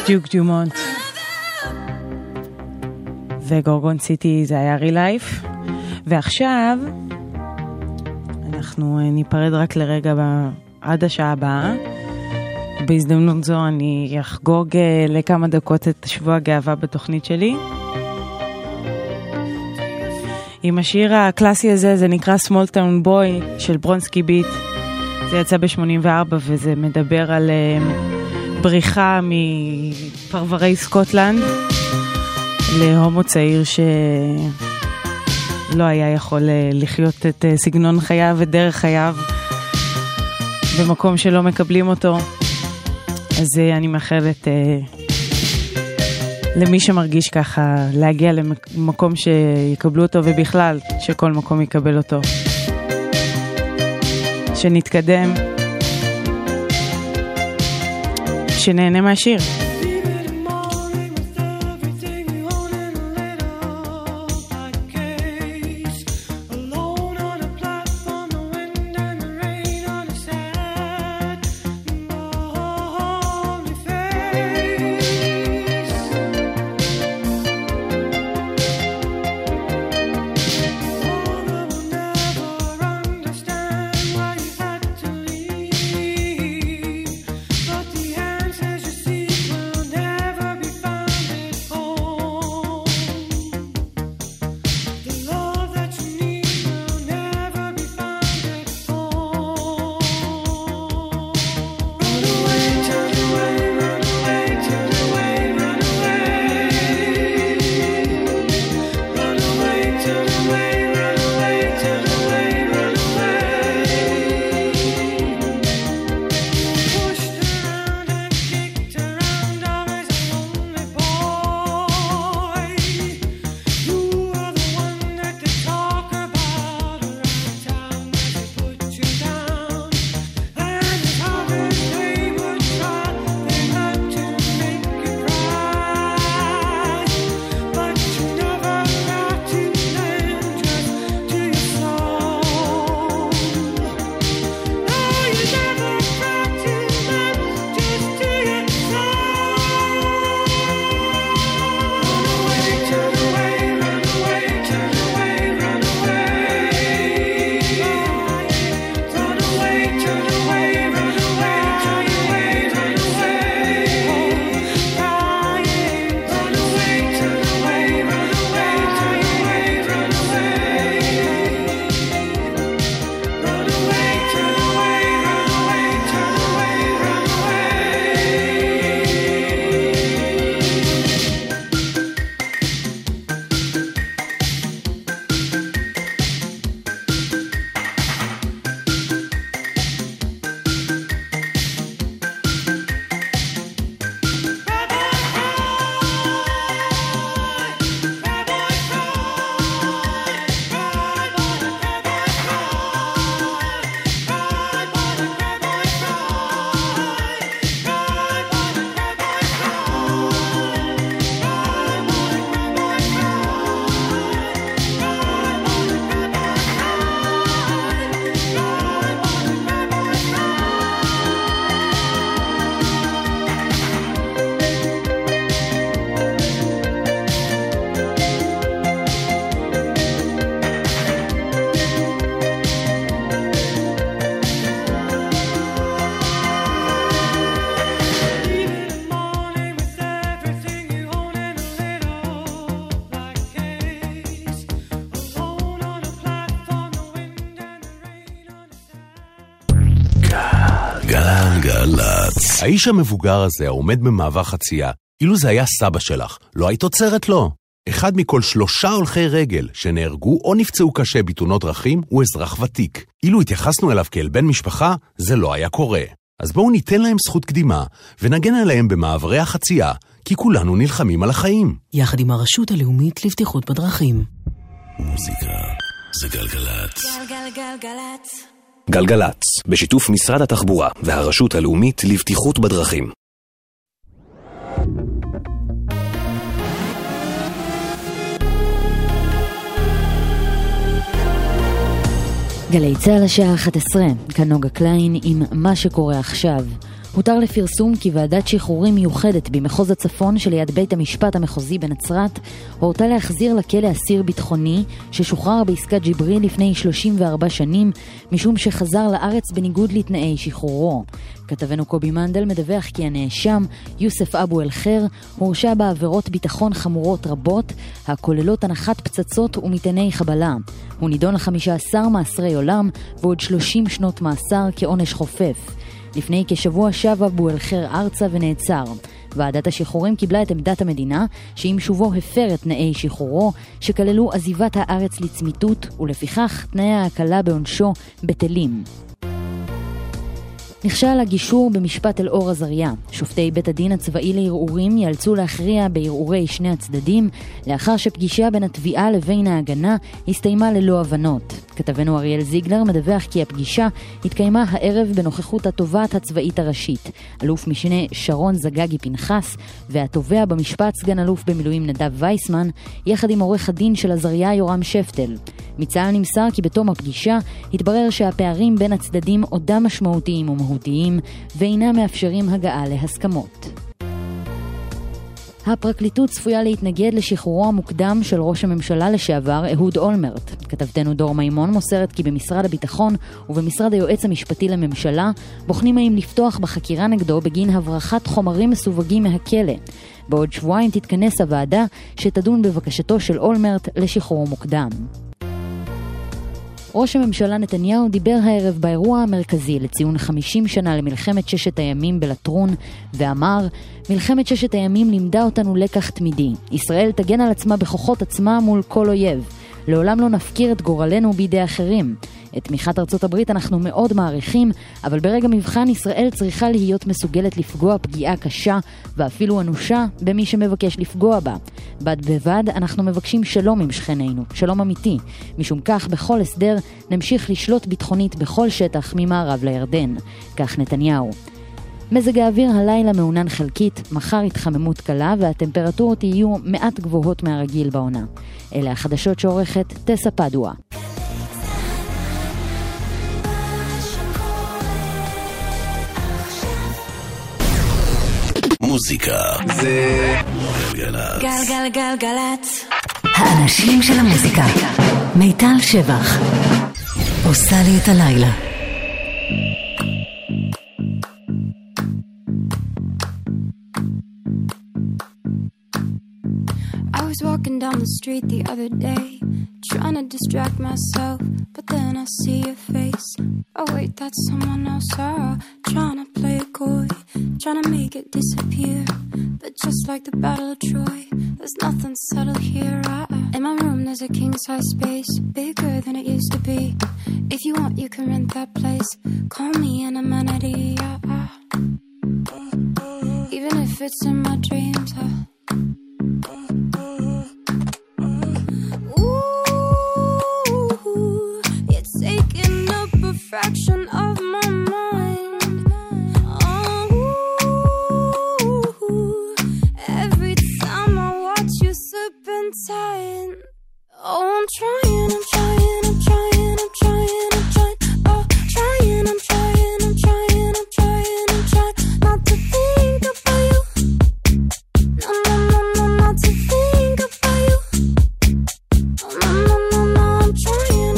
דיוק דיומונט. וגורגון סיטי זה היה רילייף. ועכשיו אנחנו ניפרד רק לרגע עד השעה הבאה. בהזדמנות זו אני אחגוג לכמה דקות את שבוע הגאווה בתוכנית שלי. עם השיר הקלאסי הזה, זה נקרא Small Town Boy של ברונסקי ביט. זה יצא ב-84 וזה מדבר על בריחה מפרברי סקוטלנד להומו צעיר שלא היה יכול לחיות את סגנון חייו ודרך חייו במקום שלא מקבלים אותו. אז אני מאחלת למי שמרגיש ככה להגיע למקום שיקבלו אותו, ובכלל שכל מקום יקבל אותו. שנתקדם, שנהנה מהשיר. גלגלצ. האיש המבוגר הזה העומד במעבר חצייה, אילו זה היה סבא שלך, לא היית עוצרת לו. אחד מכל 3 הולכי רגל שנהרגו או נפצעו קשה בתאונות דרכים הוא אזרח ותיק. אילו התייחסנו אליו כאל בן משפחה, זה לא היה קורה. אז בואו ניתן להם זכות קדימה ונגן עליהם במעברי החצייה, כי כולנו נלחמים על החיים. יחד עם הרשות הלאומית לבטיחות בדרכים. מוזיקה זה גלגלצ. גלגלגלגלצ. גלגלצ, בשיתוף משרד התחבורה והרשות הלאומית לבטיחות בדרכים. גלי צהל השעה 11, כאן נוגה קליין עם מה שקורה עכשיו. הותר לפרסום כי ועדת שחרורים מיוחדת במחוז הצפון שליד בית המשפט המחוזי בנצרת הורתה להחזיר לכלא אסיר ביטחוני ששוחרר בעסקת ג'יבריל לפני 34 שנים משום שחזר לארץ בניגוד לתנאי שחרורו. כתבנו קובי מנדל מדווח כי הנאשם יוסף אבו אל-חיר הורשע בעבירות ביטחון חמורות רבות הכוללות הנחת פצצות ומטעני חבלה. הוא נידון ל15 מאסרי עולם ועוד 30 שנות מאסר כעונש חופף. לפני כשבוע שב אבו אל-חיר ארצה ונעצר. ועדת השחרורים קיבלה את עמדת המדינה שעם שובו הפר את תנאי שחרורו שכללו עזיבת הארץ לצמיתות ולפיכך תנאי ההקלה בעונשו בטלים. נכשל הגישור במשפט אל-אור עזריה. שופטי בית הדין הצבאי לערעורים יאלצו להכריע בערעורי שני הצדדים לאחר שפגישה בין התביעה לבין ההגנה הסתיימה ללא הבנות. כתבנו אריאל זיגלר מדווח כי הפגישה התקיימה הערב בנוכחות התובעת הצבאית הראשית, אלוף משנה שרון זגגי פנחס, והתובע במשפט סגן אלוף במילואים נדב וייסמן, יחד עם עורך הדין של עזריה יורם שפטל. מצה"ל נמסר כי בתום הפגישה התברר שהפערים בין הצדדים עודם משמעותיים ומהותיים ואינם מאפשרים הגעה להסכמות. הפרקליטות צפויה להתנגד לשחרורו המוקדם של ראש הממשלה לשעבר אהוד אולמרט. כתבתנו דור מימון מוסרת כי במשרד הביטחון ובמשרד היועץ המשפטי לממשלה בוחנים האם לפתוח בחקירה נגדו בגין הברחת חומרים מסווגים מהכלא. בעוד שבועיים תתכנס הוועדה שתדון בבקשתו של אולמרט לשחרור מוקדם. ראש הממשלה נתניהו דיבר הערב באירוע המרכזי לציון 50 שנה למלחמת ששת הימים בלטרון ואמר, מלחמת ששת הימים לימדה אותנו לקח תמידי. ישראל תגן על עצמה בכוחות עצמה מול כל אויב. לעולם לא נפקיר את גורלנו בידי אחרים. את תמיכת ארצות הברית אנחנו מאוד מעריכים, אבל ברגע מבחן ישראל צריכה להיות מסוגלת לפגוע פגיעה קשה ואפילו אנושה במי שמבקש לפגוע בה. בד בבד אנחנו מבקשים שלום עם שכנינו, שלום אמיתי. משום כך בכל הסדר נמשיך לשלוט ביטחונית בכל שטח ממערב לירדן. כך נתניהו. מזג האוויר הלילה מעונן חלקית, מחר התחממות קלה והטמפרטורות יהיו מעט גבוהות מהרגיל בעונה. אלה החדשות שעורכת טסה פדואה. מוזיקה זה גלגלצ. גלגלגלגלצ. האנשים של המוזיקה. מיטל שבח. עושה לי את הלילה. I was walking down the street the other day, trying to distract myself, but then I see your face. Oh wait, that's someone else. Trying to play it coy, trying to make it disappear. But just like the Battle of Troy, there's nothing subtle here. In my room there's a king-size space, bigger than it used to be. If you want you can rent that place, call me an amenity. Even if it's in my dreams. Fraction of my mind. Every time I watch you slipping tight. Oh, I'm trying. Oh, trying. I'm trying. Not to think about you. No, not to think about you. No, I'm trying.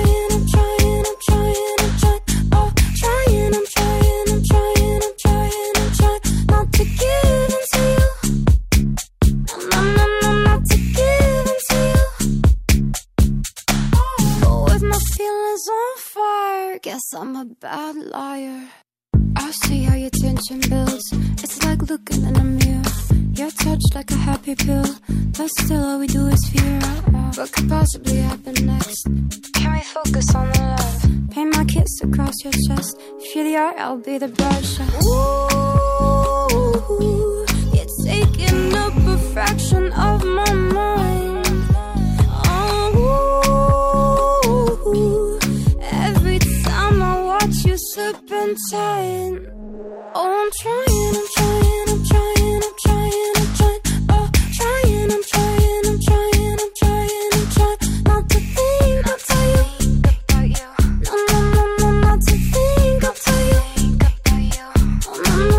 Guess I'm a bad liar. I see how your tension builds. It's like looking in a mirror. You're touched like a happy pill, but still all we do is fear. What could possibly happen next? Can we focus on the love? Paint my kiss across your chest. If you're the art, I'll be the brush. Ooh, you're taking up a fraction of my mind. Slipping tight. Oh, I'm trying. Oh, trying. Oh, trying. I'm trying. Not to think about you. No, not to think about you. Oh, no,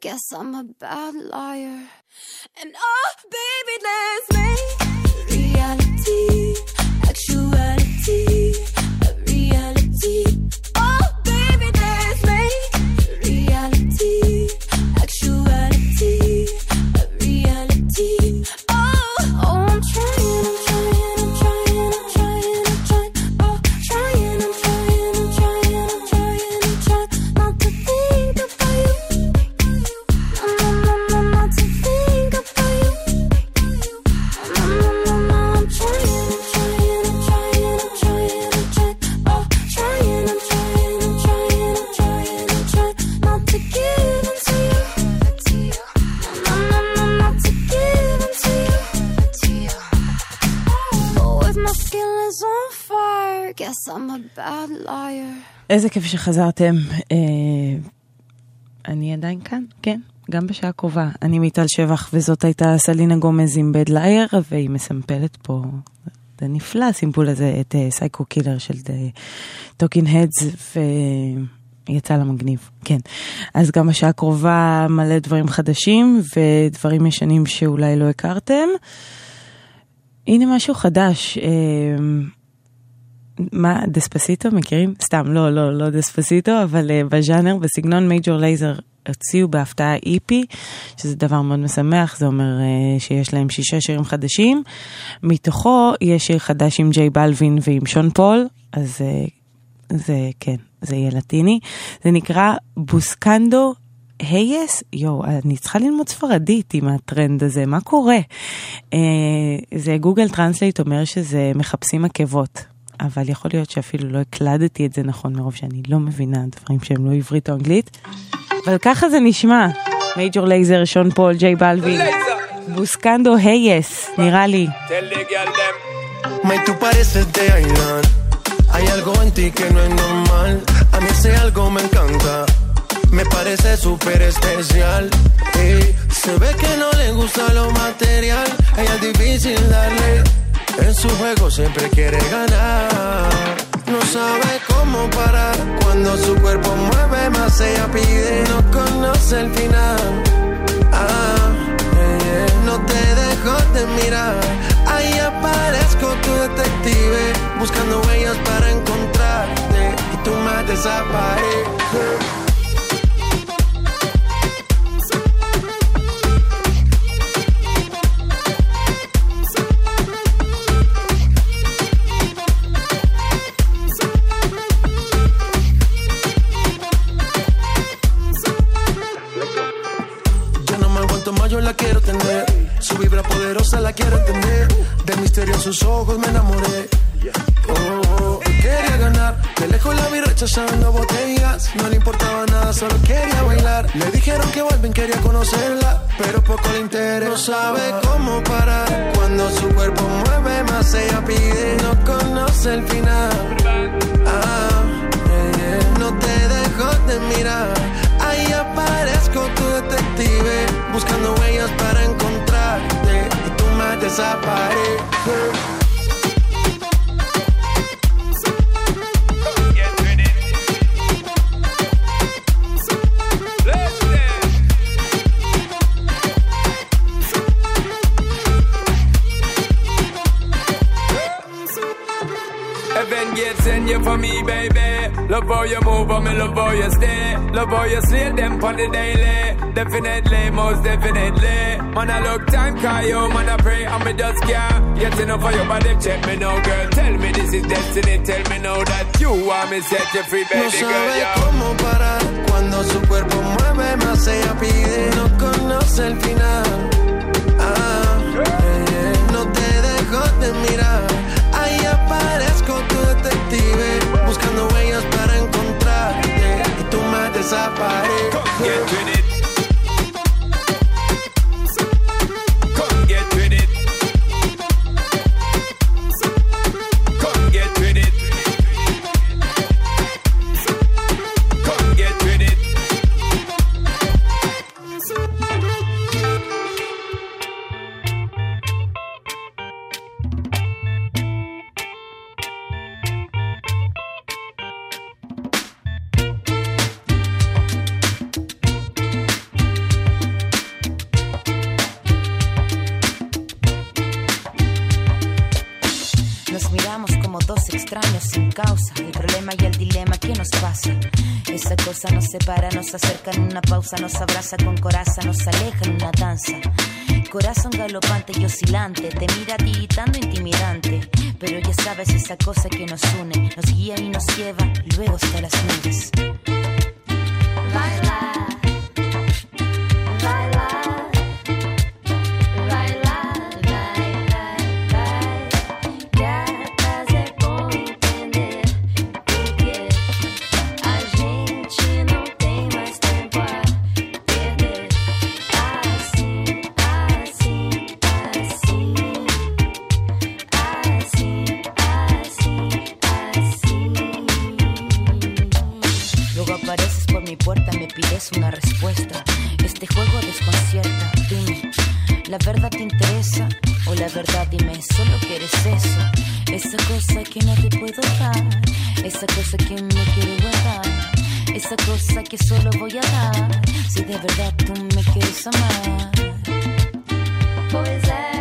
guess I'm a bad liar. And oh, baby, let's make reality, actuality, a reality. Oh, baby, let's make reality, actuality, a reality. Oh, I'm trying. Oh, trying not to think about you. Not to think about you. I'm trying. Oh, trying not to give into you. Not to give into you. Oh, if my skin is on fire, guess I'm a bad liar. איזה כיף שחזרתם. אני עדיין כאן, כן, גם בשעה קרובה. אני מיטל שבח, וזאת הייתה סלינה גומז עם בד לייר, והיא מסמפלת פה, זה נפלא הסימפול הזה, את סייקו קילר של טוקין הדס, ויצא לה מגניב, כן. אז גם בשעה קרובה מלא דברים חדשים, ודברים ישנים שאולי לא הכרתם. הנה משהו חדש, מה, דספסיטו, מכירים? סתם, לא דספסיטו, אבל בז'אנר, בסגנון מייג'ור לייזר, הוציאו בהפתעה איפי, שזה דבר מאוד משמח, זה אומר שיש להם 6 שירים חדשים, מתוכו יש שיר חדש עם ג'יי בלווין ועם שון פול, אז זה, כן, זה יהיה לטיני, זה נקרא בוסקנדו הייס, אני צריכה ללמוד ספרדית עם הטרנד הזה, מה קורה? זה גוגל טרנסלייט אומר שזה מחפשים עקבות, אבל יכול להיות שאפילו לא הקלדתי את זה נכון מרוב שאני לא מבינה דברים שהם לא עברית או אנגלית, אבל ככה זה נשמע. מייג'ור לייזר, שון פול, ג'יי בלווין, בוסקנדו הייס, נראה לי. Tú pareces de Ailan. Hay algo en ti que no es normal. A mí ese algo me encanta. Me parece súper especial. Se ve que no le gusta lo material. Ella es difícil darle. En su juego siempre quiere ganar. No sabe cómo parar. Cuando su cuerpo mueve más ella pide. No conoce el final. No te dejo de mirar. Ahí aparezco tu detective, buscando huellas para encontrarte. Y tú me desapareces. Yo la quiero tener, su vibra poderosa la quiero entender. Del misterio en sus ojos me enamoré. Quería ganar, de lejos la vi rechazando botellas. No le importaba nada, solo quería bailar. Le dijeron que vuelven, quería conocerla, pero poco le interesa. No sabe cómo parar, cuando su cuerpo mueve más ella pide. No conoce el final. No te dejo de mirar. Ahí aparezco tu detective, buscando huellas para encontrarte. Y tú me desapareces. Send you for me, baby. Love how you move, and me love how you stay. Love how you slay them on the daily. Definitely, most definitely. Man, I look time, call you, man, I pray, and me just can't get enough of your body. Check me now, girl. Tell me this is destiny. Tell me now that you want me set you free, baby girl. No sabe cómo parar cuando su cuerpo mueve más ella pide. No conoce el final. No te dejo de mirar. Ahí aparezco tu detective, buscando huellas para encontrarte. Y tú me desapareces. Come get with it. Come get with it. Come get with it. Come get with it. sin causa. El problema y el dilema, ¿qué nos pasa? Esa cosa nos separa, nos acerca en una pausa, nos abraza con coraza, nos aleja en una danza. Corazón galopante y oscilante, te mira tiritando intimidante. Pero ya sabes esa cosa que nos une, nos guía y nos lleva luego hasta las nubes. Baila. Una respuesta, este juego desconcierta. Dime, ¿la verdad te interesa? O la verdad dime, solo quieres eso. Esa cosa que no te puedo dar, esa cosa que me quiero guardar, esa cosa que solo voy a dar si de verdad tú me quieres amar. Pois é.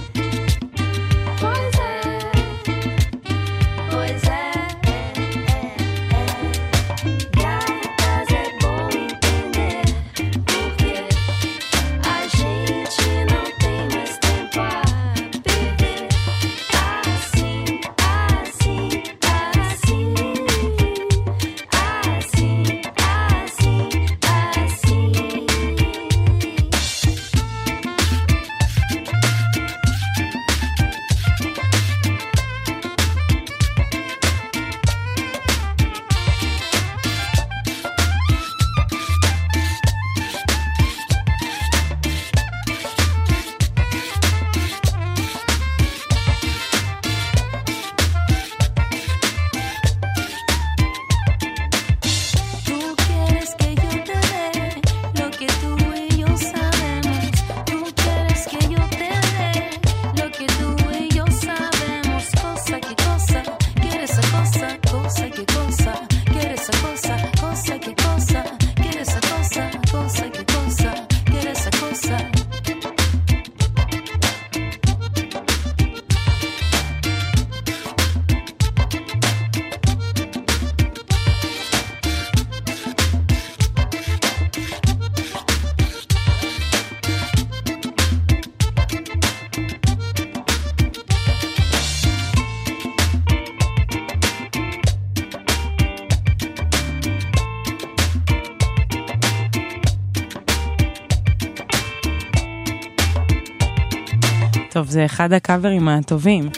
טוב, זה אחד הקאברים הטובים.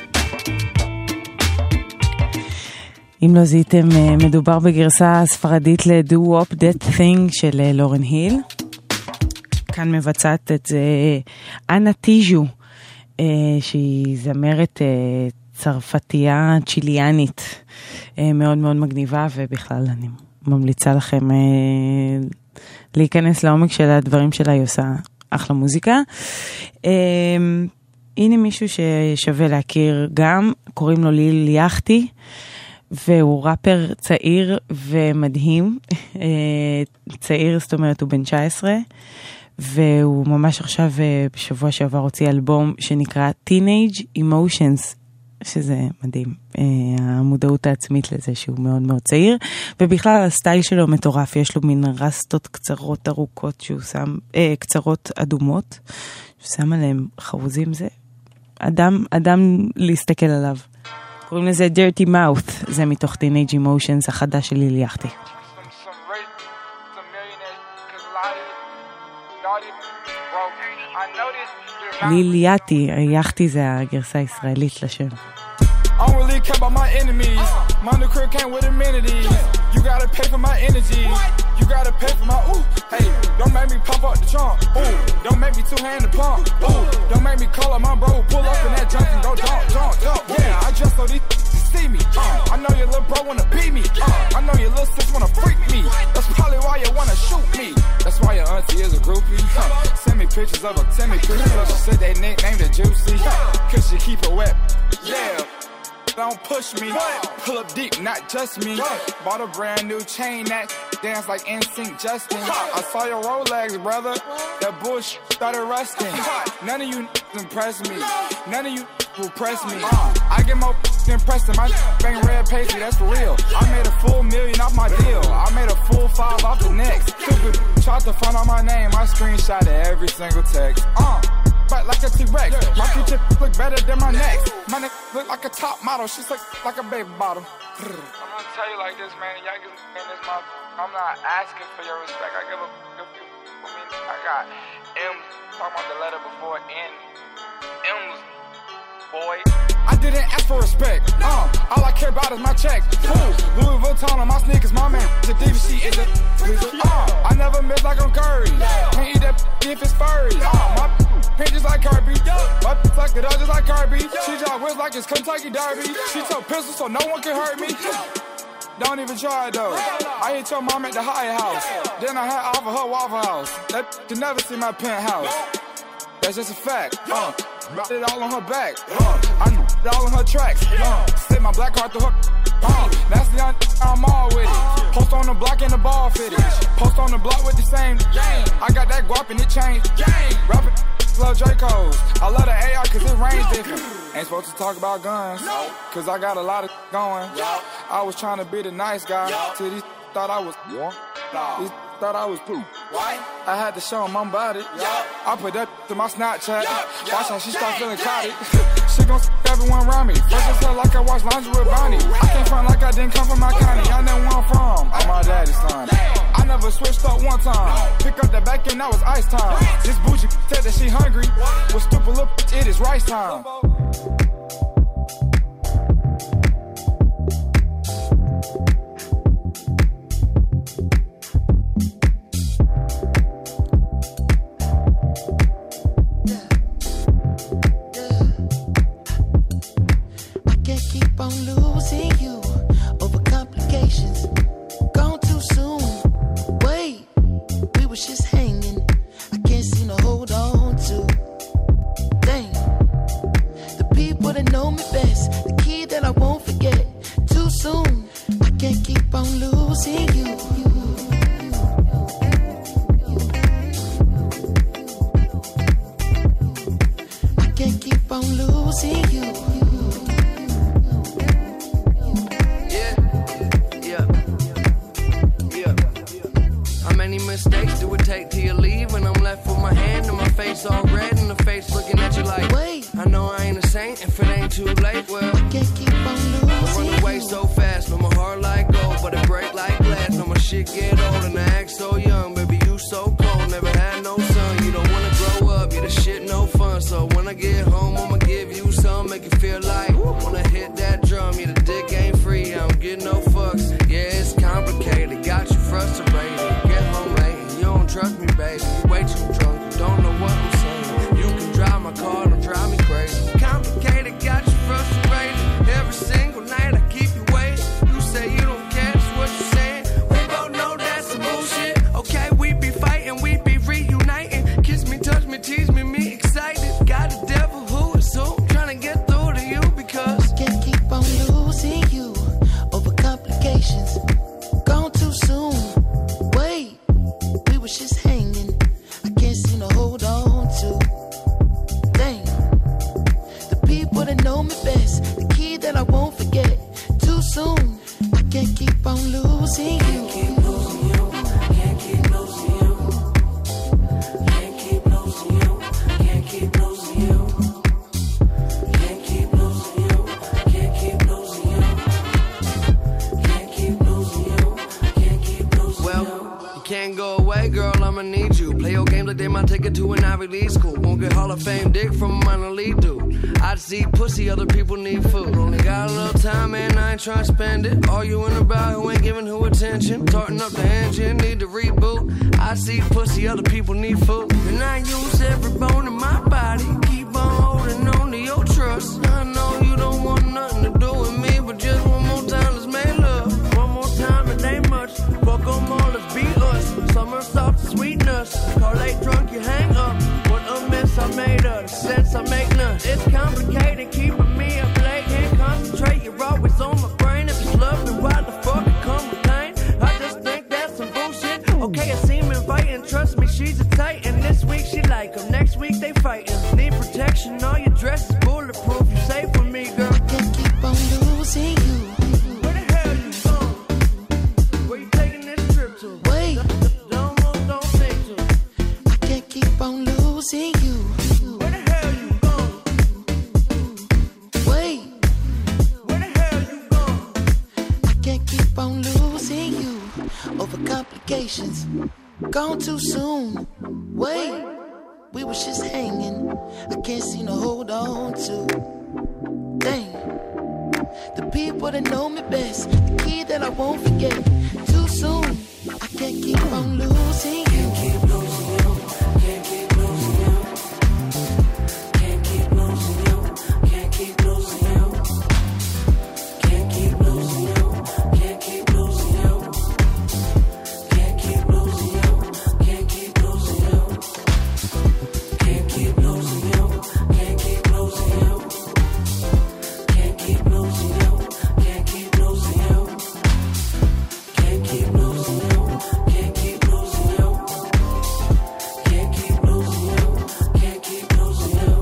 אם לא זיתם, מדובר בגרסה ספרדית ל-Do Wop That Thing של לורן היל. כאן מבצעת את זה אנה טיז'ו, שהיא זמרת צרפתייה צ'יליאנית, מאוד מאוד מגניבה, ובכלל אני ממליצה לכם להיכנס לעומק של הדברים שלה, היא עושה אחלה מוזיקה. הנה מישהו ששווה להכיר גם, קוראים לו ליל יחתי, והוא ראפר צעיר ומדהים, צעיר, זאת אומרת הוא בן 19, והוא ממש עכשיו בשבוע שעבר הוציא אלבום שנקרא Teenage Emotions, שזה מדהים, המודעות העצמית לזה שהוא מאוד מאוד צעיר, ובכלל הסטייל שלו מטורף, יש לו מין רסטות קצרות ארוכות שהוא שם, קצרות אדומות, שהוא שם עליהם חרוזים, זה אדם להסתכל עליו. קוראים לזה Dirty Mouth, זה מתוך Teenage Emotions החדש של ליל יחתי. ליל יחתי זה הגרסה הישראלית לשם. I don't really care about my enemies. My new crib came with amenities. You gotta pay for my energy. You gotta pay for my ooh. Hey, don't make me pop up the trunk. Ooh, don't make me two-hand the pump. Ooh, don't make me call up my bro. Pull up in that junk and go jump. Yeah, I just so these see me. I know your little bro wanna beat me. I know your little sis wanna freak me. That's probably why you wanna shoot me. That's why your auntie is a groupie. Send me pictures of her. Send me pictures of her. She said they nicknamed her Juicy. Cause she keep it wet. Yeah. Don't push me, pull up deep, not just me. Bought a brand new chain that dance like NSYNC Justin. I saw your Rolex, brother. That bullshit started rusting. None of you impress me. None of you will press me. I get more than Preston, my bang red pastry, that's for real. I made a full million off my deal. I made a full 5 off the next. Stupid, tried to find out my name, I screenshot every single text. Fight like a T-Rex. My future look better than my next. My neck look like a top model, she's like a baby bottle. I'm gonna tell you like this, man, y'all give me this my. I'm not asking for your respect. I give a few. I mean, I got M's talking about the letter before N. M's, boy. I didn't ask for respect. All I care about is my check. Louis Vuitton on my sneakers. My man, the DVC is a. I never miss like I'm Curry. Can't eat that if it's furry. My pink just like Kirby. My like the just like Kirby. She just whiz like it's Kentucky Derby. She took pistols so no one can hurt me. Don't even try it though. I hit your mom at the Hyatt House. Then I had off of her Waffle House. That can never see my penthouse. That's just a fact. It all on her back. I knew it all on her tracks. Slip my black card through her. That's the I'm all with it. Post on the block and the ball fitted. Post on the block with the same game. I got that guap and it changed. Rapping love Dracos. I love the AR cause it range different. Ain't supposed to talk about guns. Cause I got a lot of going. I was trying to be the nice guy. Till these thought I was. These thought I was poop. I had to show them I'm about it. I put that to my Snapchat. Watch how she start feeling cloudy. She gon' everyone around me. First as hell like I watch laundry with Bonnie. I can't front like I didn't come from my county. I know where I'm from. I'm my daddy's son. I never switched up one time. Pick up the back end, that was ice time. This bougie said that she hungry. With stupid little bitch, it is rice time. On losing you over complications. Gone too soon. Wait, we was just hanging. I can't seem to hold on to. Dang, the people that know me best, the key that I won't forget. Too soon, I can't keep on losing you. I can't keep on losing you. Mistakes do it take till you leave, and I'm left with my hand and my face all red, and the face looking at you like, wait, I know I ain't a saint if it ain't too late. Well, can't keep on losing. I run away so fast, no my heart like gold, but it break like glass. No my shit get old and I act so young, baby you so cold, never had no son. You don't wanna grow up, yeah the shit no fun. So when I get home, I'ma give you some, make you feel like wanna hit that drum. Yeah the dick ain't free, I don't get no fucks. Yeah it's complicated, got you frustrated. Get home late. You don't trust me, baby. You way too drunk. You don't know what I'm saying. You can drive my car, don't drive me crazy. Complicated, got you frustrated. Every single night I keep you waiting. You say you don't care, that's what you're saying. We both know that's some bullshit. Okay, we be fighting, we be reuniting. Kiss me, touch me, tease me, me excited. Got a devil who is so trying to get through to you because can't keep on losing you over complications. Gone too soon. Wait. We was just hanging. I can't seem to hold on to. Dang, the people that know me best, the key that I won't forget. Too soon, I can't keep on losing you. Can't keep losing you. Can't keep losing you. Can't keep losing you. Can't keep losing you. Can't keep losing you. Can't keep losing you. Can't keep losing you. Can't keep losing you. Well, you can't go away, girl, I'ma need you. Play your games like they might take it to an Ivy League school. Won't get Hall of Fame dick from a minor league dude. I see pussy, other people need food. Only got a little time, man, I ain't trying to spend it. Arguing about who ain't giving who attention. Tarting up the engine, need to reboot. I see pussy, other people need food. And I use every bone in my body. Keep on holding on to your trust. I know you don't want nothing to do with me, but just one more time, let's make love. One more time, it ain't much. Fuck them all, let's be us. Summer soft sweetness. Car late drunk, you hang up. What a mess I made of. The sense I make none. It's complicated, keeping me up late. Can't concentrate, you're always on my brain. If it's love, then why the fuck it come with pain? I just think that's some bullshit. Okay, I seem inviting. Trust me, she's a titan. This week she like 'em. Next week they fighting. Need protection, all your dress is bulletproof. You say to. Wait, Don't move, don't think to. I can't keep on losing you. Where the hell you gone? Wait, Where the hell you gone? I can't keep on losing you over complications. Gone too soon. Wait, we was just hanging. I can't seem to hold on to. Dang, the people that know me best, the key that I won't forget. Too soon, I can't keep on losing you. Can't keep losing you. Can't keep losing you. Can't keep losing you. Can't keep losing you. Can't keep losing you. Can't keep losing you. Can't keep losing you. Can't keep losing you. Can't keep losing you. Can't keep losing you. Can't keep losing you. Can't keep losing you. Can't keep losing you. Can't keep losing you. Can't keep losing you. Can't keep losing you.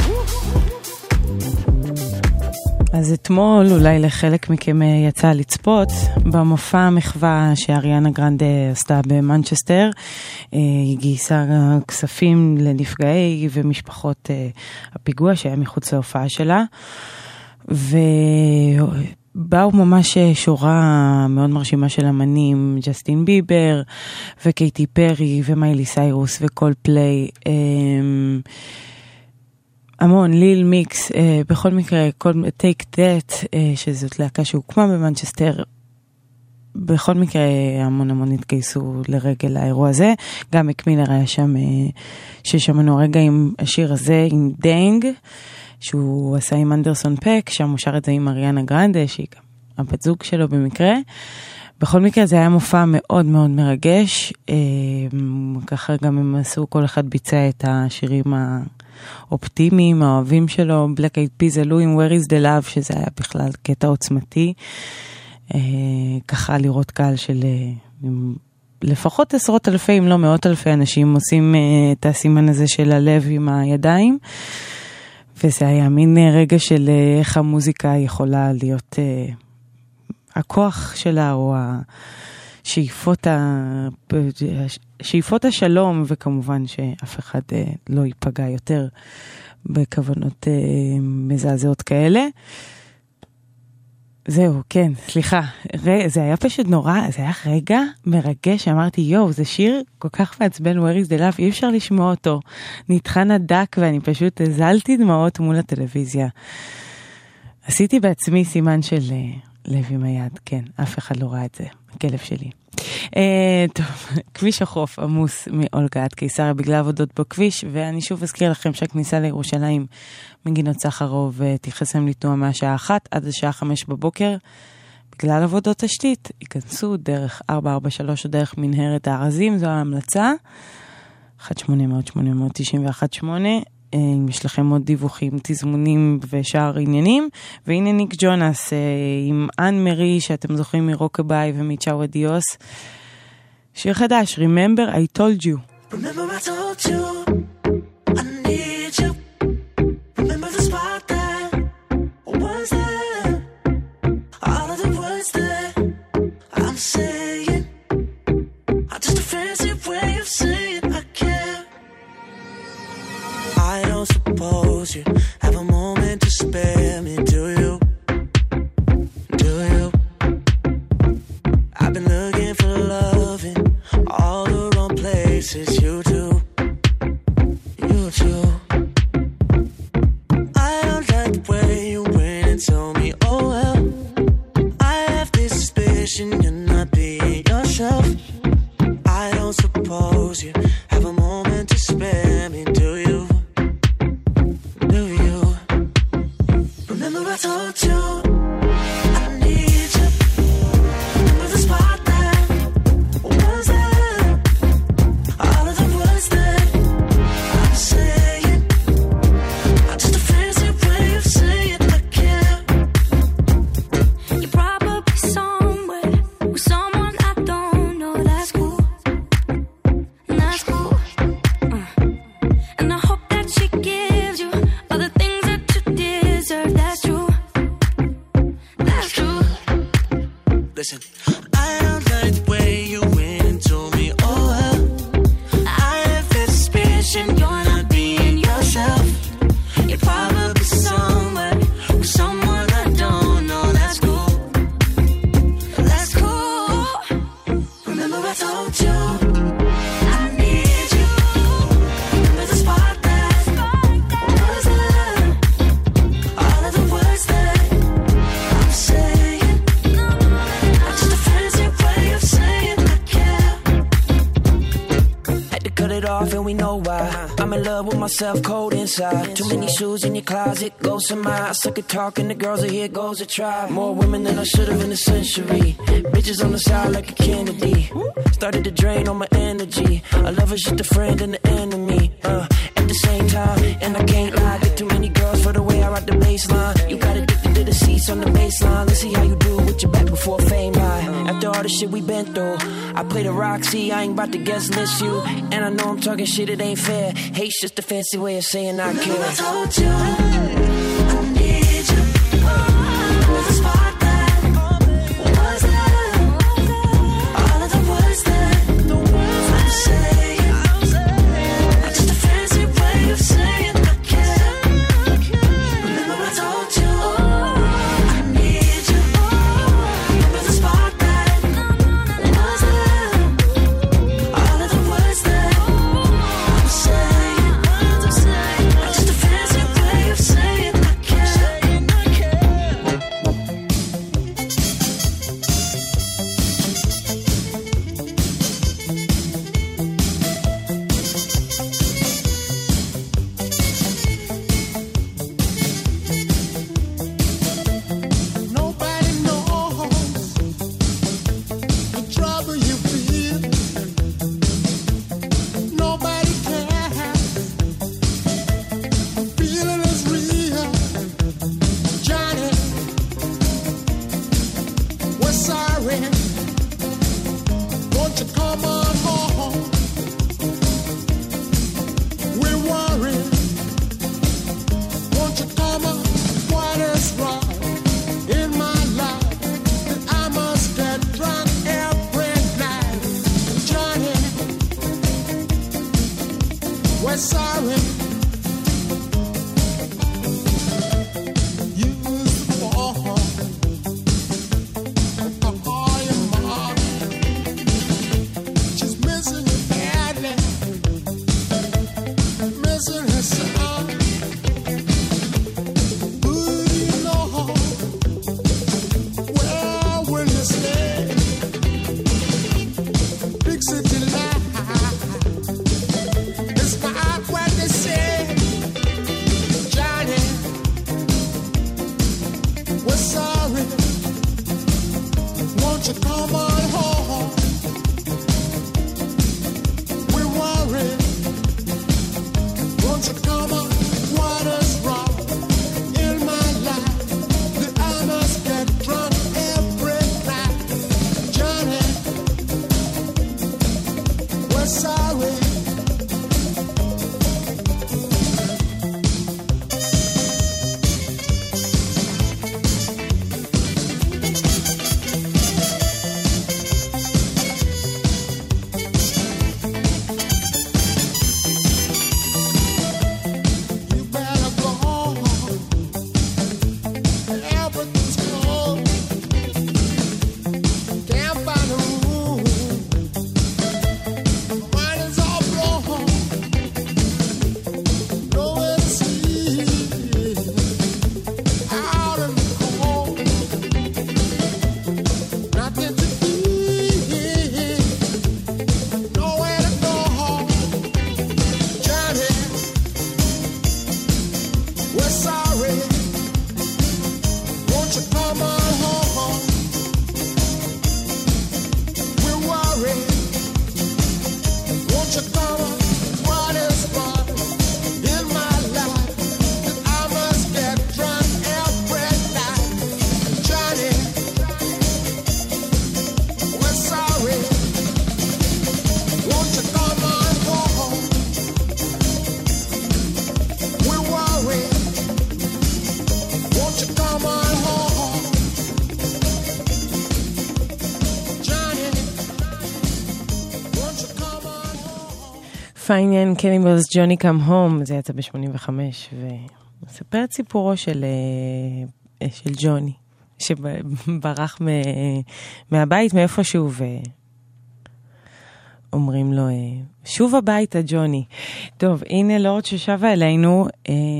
אז אתמול אולי לחלק מכם יצא לצפות במופע המחווה שאריאנה גרנדה עשתה במנצ'סטר. היא גייסה כספים לנפגעי ומשפחות הפיגוע שהיה מחוץ להופעה שלה, ובאו ממש שורה מאוד מרשימה של אמנים, ג'סטין ביבר וקייטי פרי ומיילי סיירוס וקול פליי, המון, ליל מיקס, בכל מקרה, טייק דאט, שזאת להקה שהוקמה במנצ'סטר, בכל מקרה המון התגייסו לרגל האירוע הזה. גם מקמילר היה שם, ששמענו הרגע עם השיר הזה, עם דנג, שהוא עשה עם אנדרסון פק, שם הוא שר את זה עם אריאנה גרנדה, שהיא גם הבת זוג שלו במקרה. בכל מקרה זה היה מופע מאוד מאוד מרגש, ככה גם הם עשו, כל אחד ביצע את השירים האופטימיים, האוהבים שלו. Black Eyed Peas עלו עם Where is the Love, שזה היה בכלל קטע עוצמתי, ככה לראות קהל של לפחות עשרות אלפי, אם לא מאות אלפי אנשים עושים את הסימן הזה של הלב עם הידיים, וזה היה מין רגע של איך המוזיקה יכולה להיות הכוח שלה, או שאיפות השלום, וכמובן שאף אחד לא ייפגע יותר בכוונות מזעזעות כאלה. זהו, כן, סליחה, זה היה פשוט נורא, זה היה רגע מרגש, שאמרתי, יואו, זה שיר כל כך מעצבן, Where is the Love, אי אפשר לשמוע אותו, נתחן הדק, ואני פשוט הזלתי דמעות מול הטלוויזיה. עשיתי בעצמי סימן של לב עם היד, כן, אף אחד לא ראה את זה, הכלב שלי. טוב, כביש החוף עמוס מאולגה עד קיסריה בגלל עבודות בכביש, ואני שוב אזכיר לכם שהכניסה לירושלים מגינות סחרוב תיחסם לתנועה מהשעה 1 עד השעה 5 בבוקר בגלל עבודות תשתית. ייכנסו דרך 443 או דרך מנהרת הארזים, זו ההמלצה. 1-800-891-8. אם יש לכם עוד דיווחים, תזמונים ושאר עניינים. והנה ניק ג'ונס עם אן מרי, שאתם זוכרים מרוקביי ומצ'או אדיוס, שיר חדש, Remember I Told You. Remember I told you I need you. Remember the spot that was there. All of the words that I'm saying are just a fancy way of saying I care. I don't suppose you have a moment to spare me, do you? Do you? I've been looking for love in all the wrong places, you do. I told you I need you. Remember the spark that was there. All of the words that I'm saying are just a fancy way of saying I care. Had to cut it off and we know why. I'm in love with myself, cold inside. Too many shoes in your closet, ghosts in my eyes. Suck at talking, the girls are here, goes a try. More women than I should have in a century. Bitches on the side like a Kennedy. Started to drain all my energy. I love is just a friend and an enemy. At the same time, and I can't lie. Get too many girls for the way I rock the baseline. You got addicted to the seats on the baseline. Let's see how you do with your back before fame high. After all the shit we been through, I play the Roxy, I ain't about to guest list you. And I know I'm talking shit, it ain't fair. Hate's just a fancy way of saying I care. Remember I told you I need you. Remember the spark that was there. All of the words that I'm saying are just a fancy way of saying I care. Remember I told you I need you. Remember the spark that was there. All of the words that I'm saying are just a fancy way of saying I care. Nobody knows the trouble you feel. Nobody cares. The feeling is real. Johnny, we're sorry. Won't you come on home? We're worried. Won't you come on? What is wrong in my life that I must get drunk every night? Johnny, we're sorry. You used to fall. Call your mom. She's missing you badly. Missing her son. Who do you know? Where will you stay? Big city life. It's not what they say. Johnny, we're sorry. Won't you come on home? We're worried. Won't you come on? What is wrong in my life that I must get drunk every night? Johnny, we're sorry. You better go home. Everything's closed. Can't find a room. Mine is all blown. Nowhere to sleep. Out in the cold. Nothing to eat. Nowhere to go. Johnny, we're sorry. Won't you come on home? We're worried. Won't you come on? What is wrong in my life that I must get drunk every night? Johnny, we're sorry. Won't you come on home? We're worried. Won't you come on home? Johnny, won't you come on home? פיינן קניבלס ג'וני קאם הום, זה יצא ב-85, ומספר את סיפורו של ג'וני, שברח מהבית מאיפשהו, אומרים לו, שוב הביתה ג'וני. טוב, הנה לורד ששבה אלינו,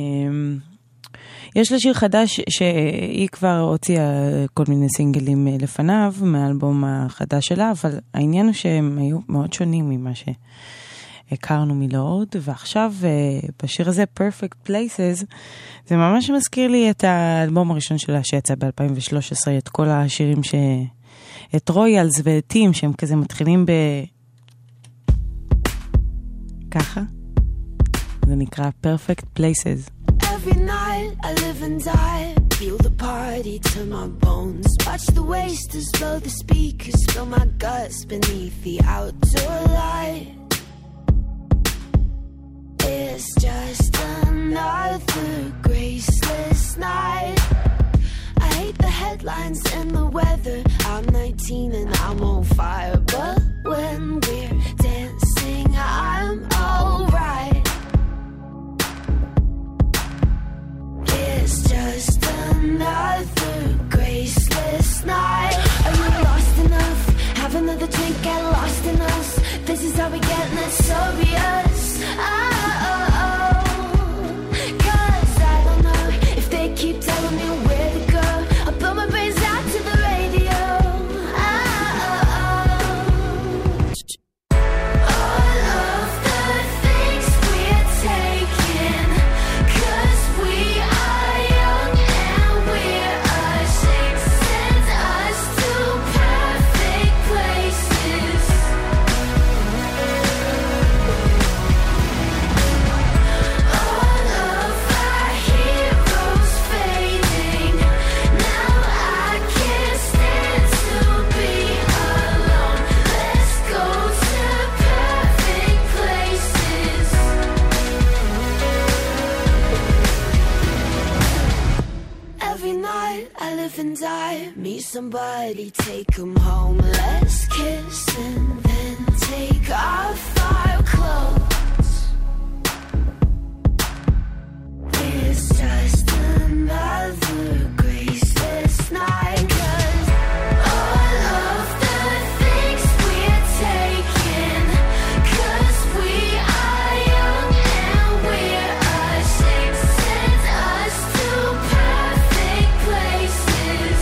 יש לה שיר חדש שהיא כבר הוציאה כל מיני סינגלים לפניו מהאלבום החדש שלה, אבל העניין הוא שהם היו מאוד שונים ממה שהכרנו מלורד, ועכשיו בשיר הזה, Perfect Places, זה ממש מזכיר לי את האלבום הראשון שלה שיצא ב-2013, את כל השירים את רויאלס וטים שהם כזה מתחילים ככה. זה נקרא Perfect Places. Every night I live and die, feel the party to my bones. Watch the wasters blow the speakers, spill my guts beneath the outdoor light. It's just another graceless night. I hate the headlines and the weather. I'm 19 and I'm on fire, but when we're dancing, I'm alright. It's just another graceless night. Are you lost enough? Have another drink, get lost in us. This is how we get, and it's obvious. Cause I don't know if they keep telling me where to go. I'll blow my brains out to the radio. All of the things we're taking, cause we are young and we're ashamed, send us to perfect places. All of our heroes fading, now I can't stand to be alone. Let's go to perfect places. Every night I live and die, meet somebody, take 'em home. Let's kiss and then take off our clothes. It's just another graceless night. 'Cause all of the things we're taking, 'cause we are young and we're ashamed, send us to perfect places.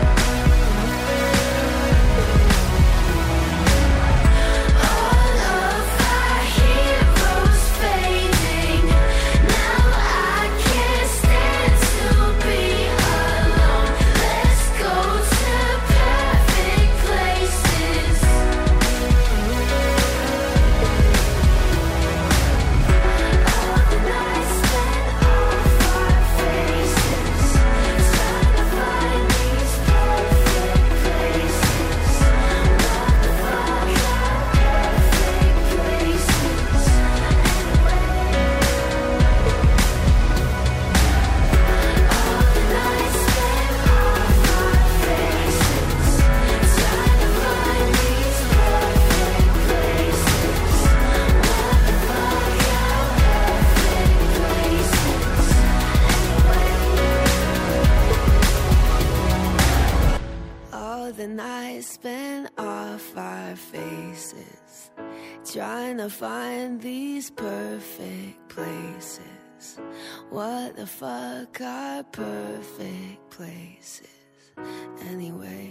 All of our heroes fading, now I can't stand to be alone. Let's go to perfect places. All the nights spent off our faces, trying to find these perfect places. What the fuck are perfect places? All the nights spent off our faces, trying to find these perfect places. What the fuck are perfect places? All the nights spent off our faces, trying to find these perfect places. What the fuck are perfect places anyway?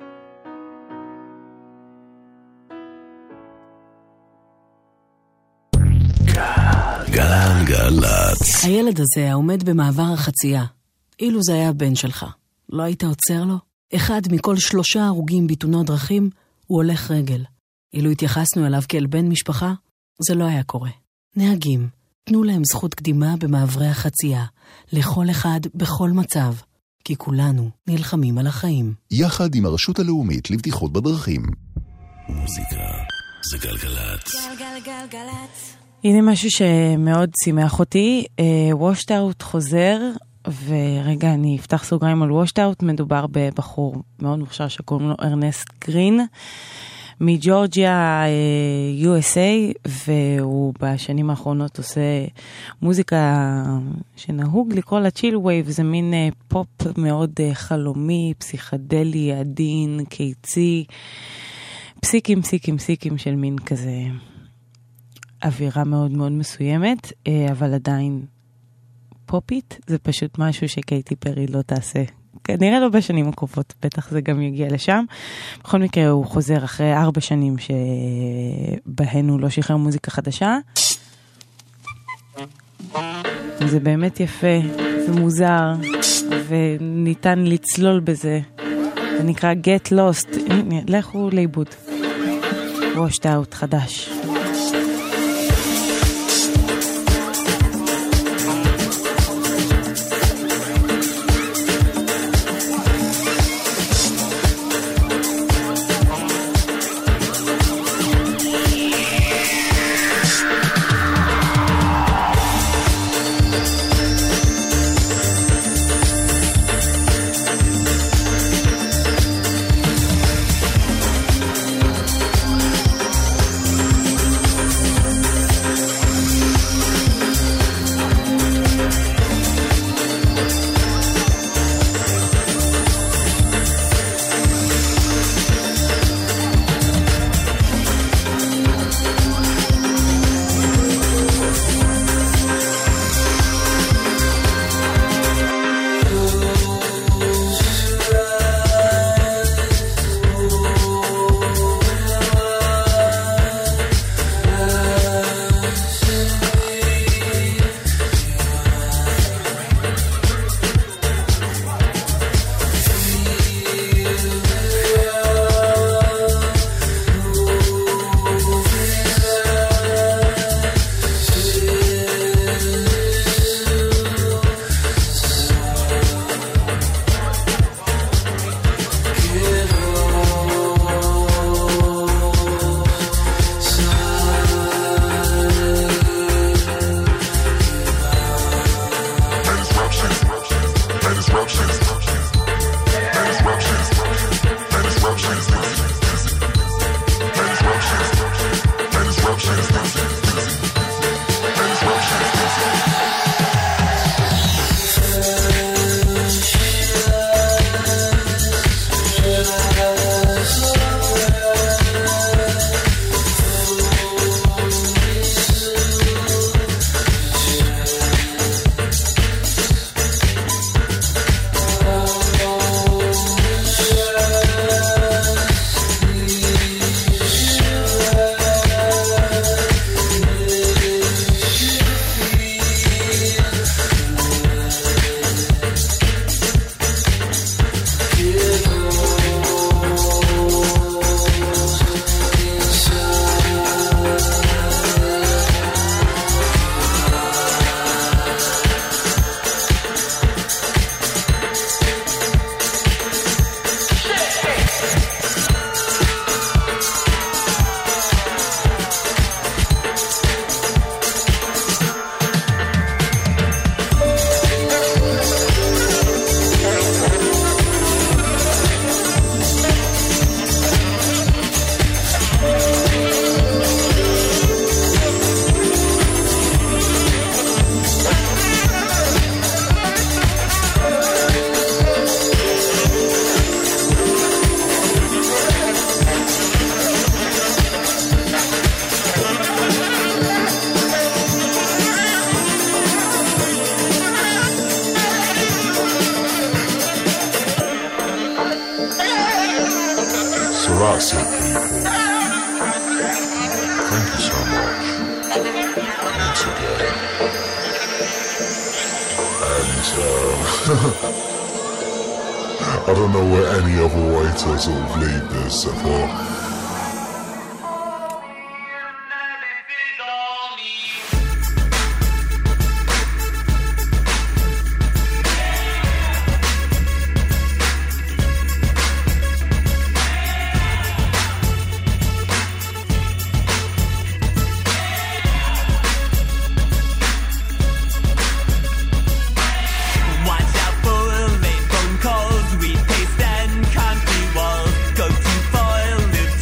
גלגלצ. הילד הזה העומד במעבר החצייה. אילו זה היה הבן שלך, לא היית עוצר לו? אחד מכל 3 הרוגים בתאונות דרכים הוא הולך רגל. אילו התייחסנו אליו כאל בן משפחה, זה לא היה קורה. נהגים, תנו להם זכות קדימה במעברי החצייה, לכל אחד בכל מצב, כי כולנו נלחמים על החיים. יחד עם הרשות הלאומית לבטיחות בדרכים. מוזיקה זה גלגלצ. גלגלגלגלצ. הנה משהו שמאוד שימח אותי, Washed Out חוזר, ורגע אני אפתח סוגריים על Washed Out, מדובר בבחור מאוד מוכשר שקוראים לו ארנסט גרין, מג'ורג'יה, USA, והוא בשנים האחרונות עושה מוזיקה שנהוג לקרוא לה צ'יל ווייב, זה מין פופ מאוד חלומי, פסיכדלי, עדין, קיצי, פסיקים של מין כזה אווירה מאוד מאוד מסוימת, אבל עדיין פופית, זה פשוט משהו שקייטי פרי לא תעשה. כנראה לא בשנים הקרובות, בטח זה גם יגיע לשם. בכל מקרה הוא חוזר אחרי 4 שנים שבהן הוא לא שחרר מוזיקה חדשה. זה באמת יפה, זה מוזר, וניתן לצלול בזה. זה נקרא Get Lost. לכו לאיבוד. Washed Out חדש. Sarasi people, thank you so much once again. And I don't know where any other way to sort of lead this. I thought Go too far, live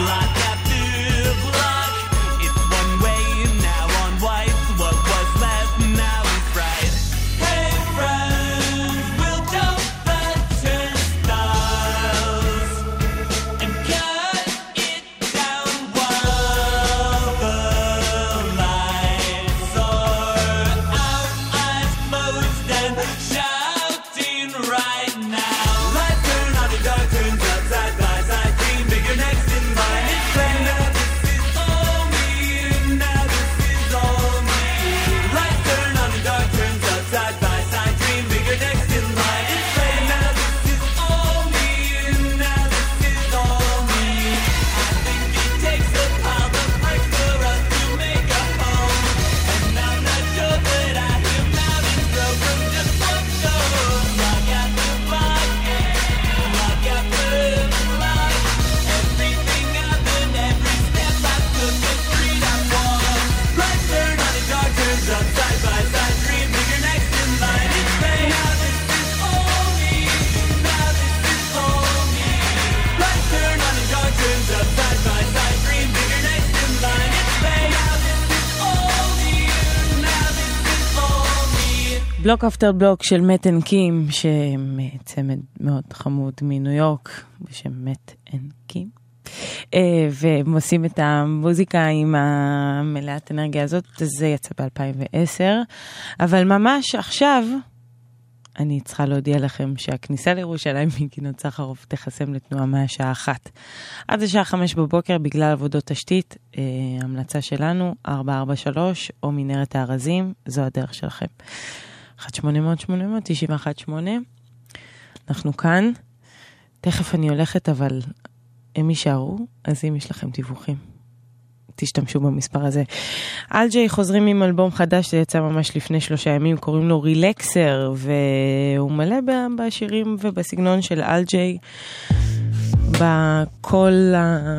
block after block. It's one way now on white. What was left now is right. Hey friends, we'll jump the turnstiles and cut it down while the lights are out. Eyes closed and shouting right now. Lights turn on and dark turns up, side by side. Dream bigger next in line. It's plain now this is all me. Now this is all me. Lights turn on and dark turns up, side by side. Dream bigger next in line. It's plain now this is all me. Now this is all me. I think it takes a pile of bricks for us to make a home. And I'm not sure that I hear mountains grow from just one stone. Block after block, block after block. Everything happened, every step I took, the street I walked. Lights turn on and dark turns up, side by side. Dream bigger next in line. It's pain. Now this is all me. Now this is all me. Lights turn on and dark turns up, side by side. Dream bigger next in line. It's pain. Now this is all me. Now this is all me. בלוק אפטר בלוק של מת אנד קים, שצמד מאוד חמוד מניו יורק, בשם מת אנד קים. והם עושים את המוזיקה עם המלאת אנרגיה הזאת, זה יצא ב-2010. אבל ממש עכשיו, אני צריכה להודיע לכם שהכניסה לירושלים מגינות סחרוף תחסם לתנועה מהשעה 1. עד השעה 5 בבוקר בגלל עבודות תשתית, המלצה שלנו, 443 או מנהרת הארזים, זו הדרך שלכם. 1-800-800-918. אנחנו כאן. תכף אני הולכת, אבל הם יישארו, אז אם יש לכם דיווחים, תשתמשו במספר הזה. אלג'יי חוזרים עם אלבום חדש, זה יצא ממש לפני 3 ימים, קוראים לו רילקסר, והוא מלא בשירים ובסגנון של אלג'יי, בקול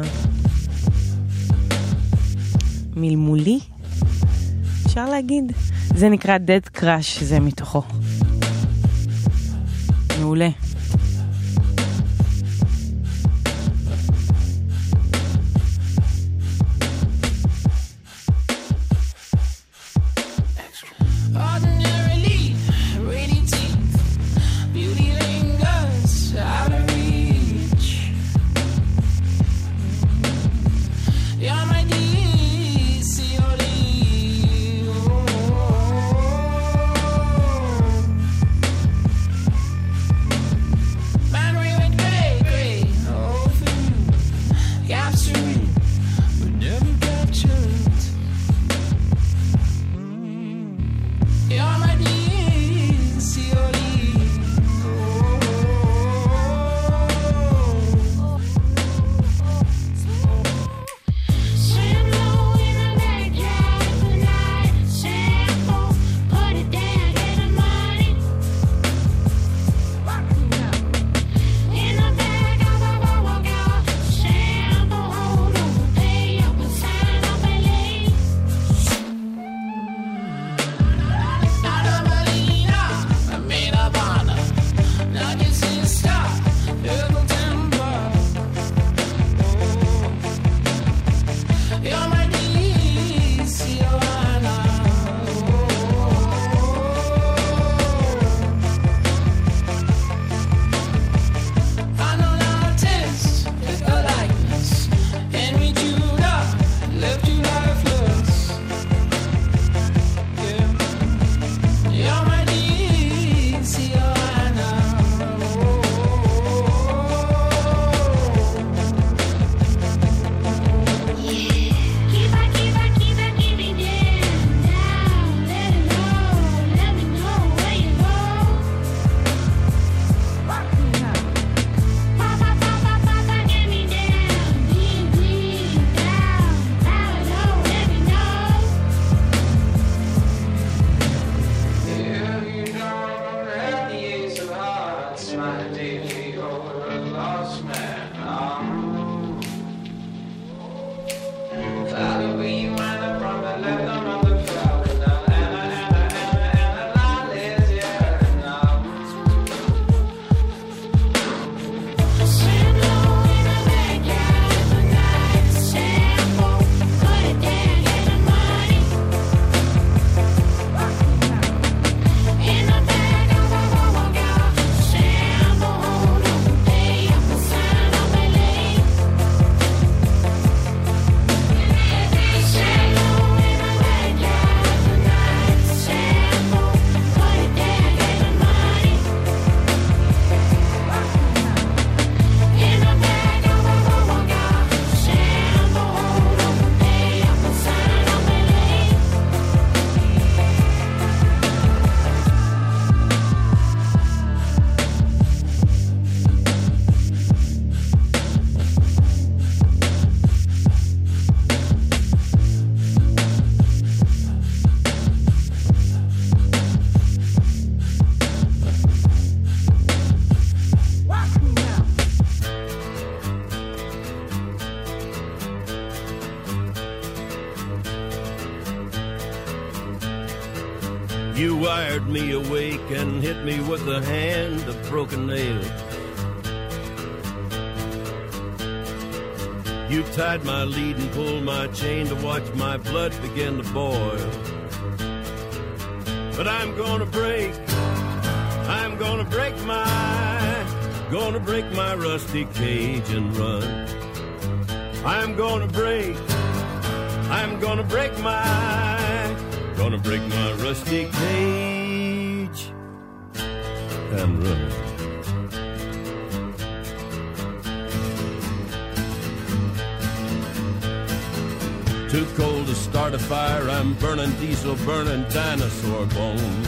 המלמולי, אפשר להגיד. זה נקרא Dead Crash, זה מתוכו. מעולה. Ordinarily, radiant teeth, beauty lingers out of reach. You're my DCOD. Man, we went gray, oh, for you. Captured, but never captured. You're my DCOD. Shampoo in the backyard tonight. Shampoo, put it down, get the money. In the back of the bubble car. Shampoo, hold You wired me awake and hit me with a hand of broken nails. You tied my lead and pulled my chain to watch my blood begin to boil. But I'm gonna break my rusty cage and run. I'm gonna break my rusty cage and run. Too cold to start a fire, I'm burning diesel, burning dinosaur bones.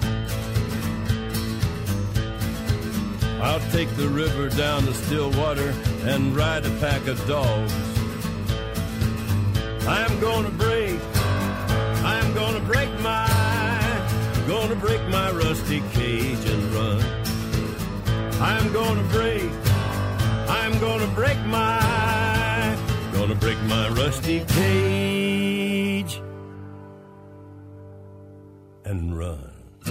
I'll take the river down to Stillwater and ride a pack of dogs. I'm gonna break my rusty cage and run. I'm gonna break my rusty cage and run.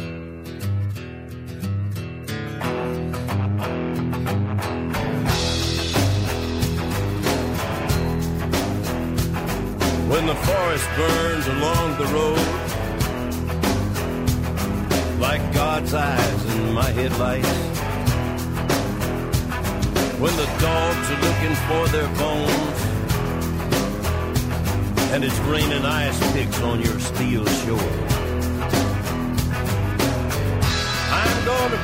When the forest burns along the road like God's eyes in my headlights, when the dogs are looking for their bones and it's raining ice picks on your steel shore, I'm gonna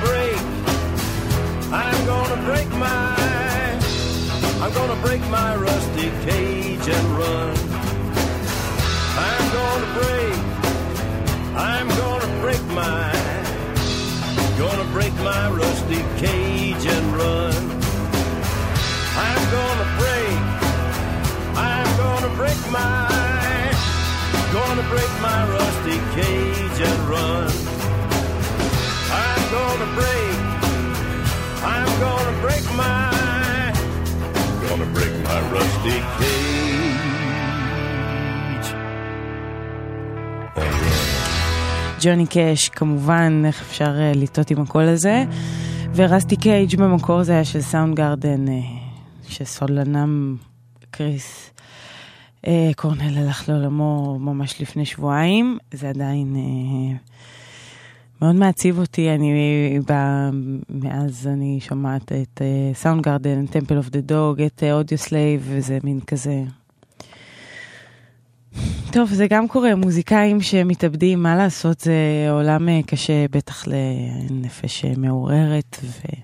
break my rusty cage and run. I'm gonna break my rusty cage and run. I'm gonna break my rusty cage and run. I'm gonna break my rusty cage and run. ג'וני קאש, כמובן, איך אפשר לטעות עם הקול הזה. ורסטי קייג' במקור זה היה של סאונד גארדן, שסולנם קריס קורנל הלך לעולמו ממש לפני שבועיים. זה עדיין מאוד מעציב אותי. מאז אני שומעת את סאונד גארדן, טמפל אוף דה דוג, את אודיו סלייב, וזה מין כזה... טוב, זה גם קורה, מוזיקאים שמתאבדים, מה לעשות, זה עולם קשה, בטח לנפש מעוררת,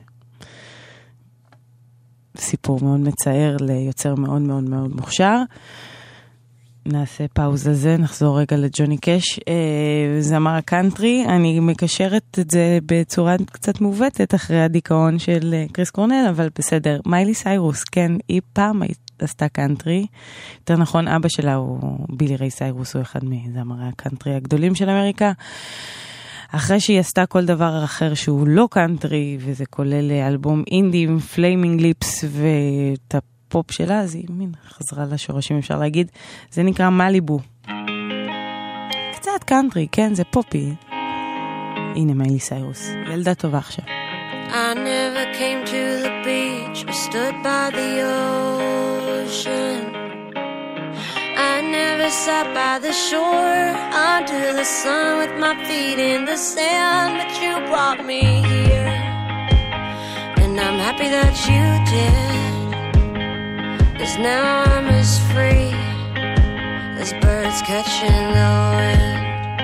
וסיפור מאוד מצער ליוצר מאוד מאוד מאוד מוכשר. נעשה פאוזה זה, נחזור רגע לג'וני קאש, זמר הקאנטרי. אני מקשרת את זה בצורה קצת מובטת אחרי הדיכאון של קריס קורנל, אבל בסדר. מיילי סיירוס, כן, היא פעם עשתה קאנטרי, יותר נכון אבא שלה הוא בילי ריי סיירוס, הוא אחד מזמרי הקאנטרי הגדולים של אמריקה. אחרי שהיא עשתה כל דבר אחר שהוא לא קאנטרי, וזה כולל אלבום אינדי עם פליימינג ליפס ואת הפופ שלה, אז היא מין חזרה לשורשים, אפשר להגיד. זה נקרא מליבו. קצת קאנטרי, כן, זה פופי. הנה מיילי סיירוס, ילדה טובה עכשיו. I never came to the beach or stood by the ocean. I never sat by the shore under the sun with my feet in the sand, but you brought me here, and I'm happy that you did, 'cause now I'm as free as birds catching the wind.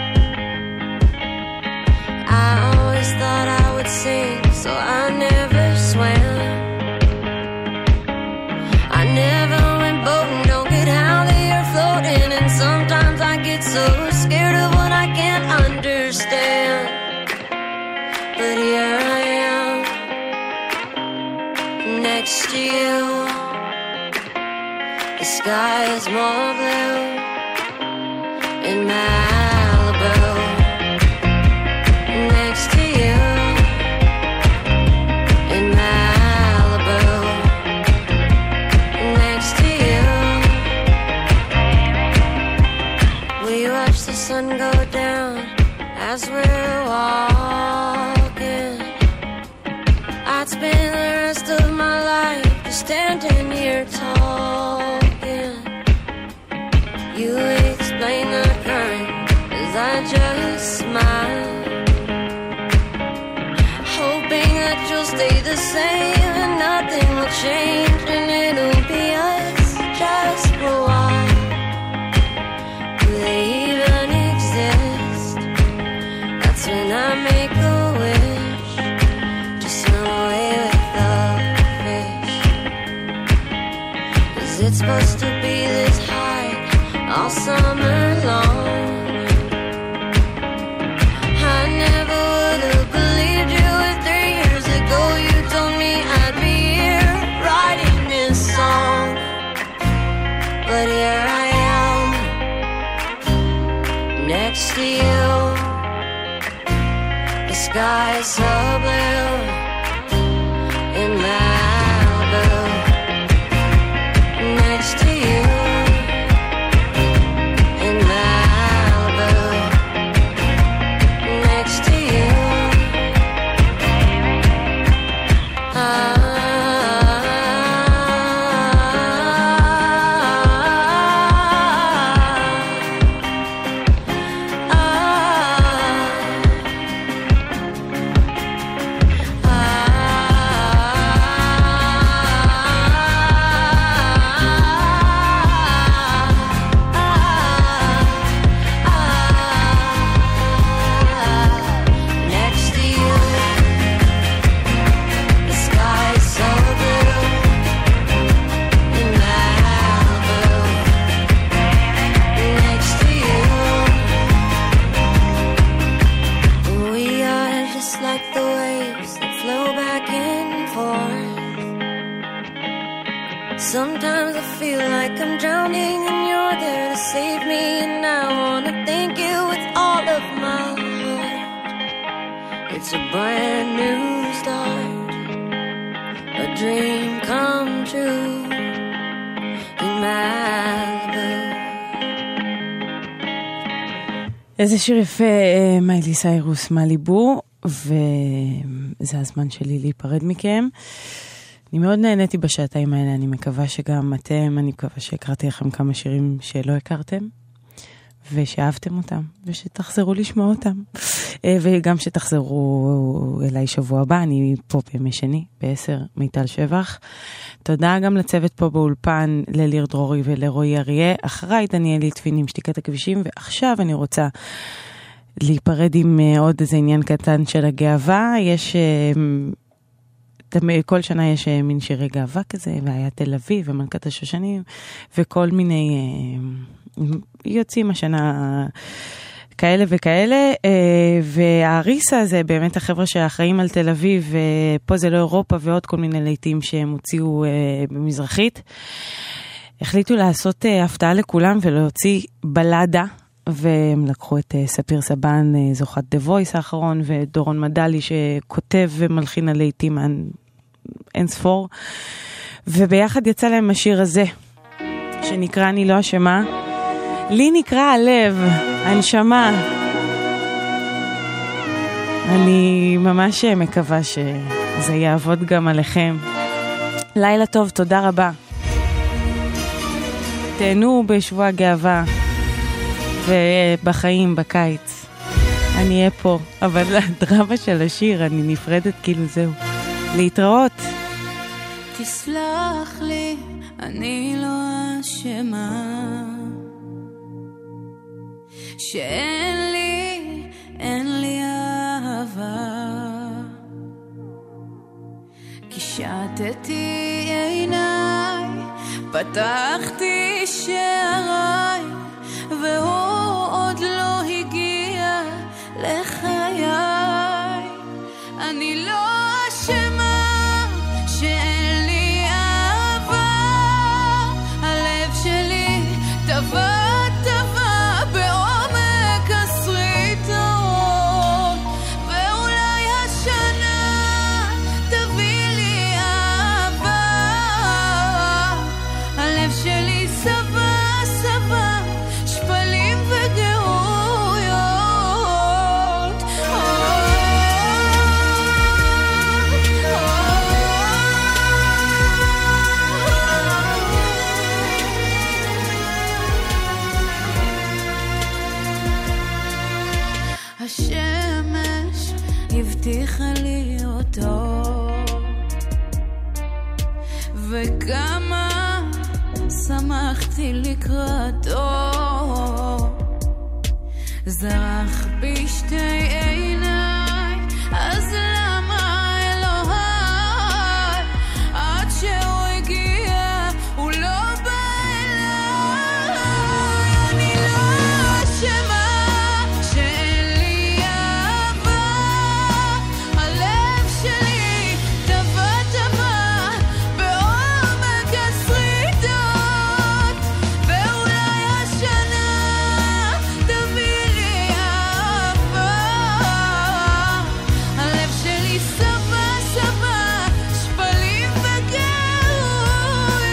I always thought I would sing, so I never swam. I never went boating, don't get how they are floating, and sometimes I get so scared of what I can't understand. But here I am, next to you. The sky is more blue in Malibu. Next to you in Malibu. Next to you. We watch the sun go down as we're walking, I'd spend the rest of my life just standing here talking. You explain the current as I just smile, hoping that you'll stay the same and nothing will change and it'll be us just for a while. Do they even exist? That's when I make a wish to swim away with the fish. 'Cause it's supposed to be this high all summer long. I never would have believed you if 3 years ago you told me I'd be here writing this song. But here I am, next to you. The sky is so blue in Malibu, next to you in Malibu, next to you. Sometimes I feel like I'm drowning and you're there to save me, and I wanna thank you with all of my heart. It's a brand new start, a dream come true in Malibu. איזה שיר יפה, מיילי סיירוס, מליבו, וזה הזמן שלי להיפרד מכם. אני מאוד נהניתי בשעתיים האלה, אני מקווה שגם אתם, אני מקווה שהקראתי לכם כמה שירים שלא הכרתם, ושאהבתם אותם, ושתחזרו לשמוע אותם, וגם שתחזרו אליי שבוע הבא, אני פה בימי שני, ב-10, מיטל שבח. תודה גם לצוות פה באולפן, לליר דרורי ולרועי אריה, אחריי דניאל ליטבין עם שתיקת הכבישים, ועכשיו אני רוצה להיפרד עם עוד איזה עניין קטן של הגאווה. יש כל שנה יש מין שירי גאווה כזה, והיה תל אביב ומלכת השושנים, וכל מיני יוצאים השנה כאלה וכאלה, והאריסה זה באמת החבר'ה שאחראים על תל אביב, ופה זה לא אירופה, ועוד כל מיני לעיתים שהם הוציאו במזרחית, החליטו לעשות הפתעה לכולם ולהוציא בלדה, והם לקחו את ספיר סבן, זוכת דה וויס האחרון, ודורון מדלי שכותב ומלחין על לעיתים אין ספור, וביחד יצא להם השיר הזה, שנקרא אני לא אשמה, לי נקרא הלב, הנשמה. אני ממש מקווה שזה יעבוד גם עליכם. לילה טוב, תודה רבה. תהנו בשבוע גאווה, ובחיים, בקיץ. אני אהיה פה, אבל הדרמה של השיר, אני נפרדת כאילו זהו. להתראות. תסלח לי, אני לא אשמה, שאין לי אהבה, קישטתי עיניי, פתחתי שעריי, והוא עוד לא הגיע לחיי. אני לא אשמה שאין לי אהבה, הלב שלי טבע בעומק הסריטות, ואולי השנה תביא לי אהבה. הלב שלי סבא שפלים וגאויות, השמש הבטיחה לי אותו, וכמה שמחתי לקראתו. זרח בשתי עיניי, אז למה אלוהי עד שהוא הגיע הוא לא בא אליי. אני לא אשמה שאין לי אהבה, הלב שלי טבע טבע בעומק השריטות, ואולי השנה תביא לי אהבה. הלב שלי סבא סבא שפלים וגאויות,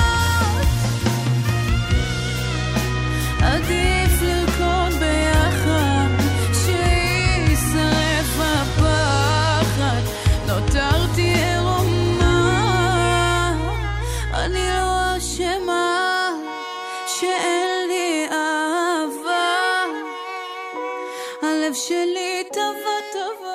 עדיף לרקוד ביחד שישרף הפחד, נותרתי ערומה. אני לא אשמה שאין לי אהבה, הלב שלי טבע טבע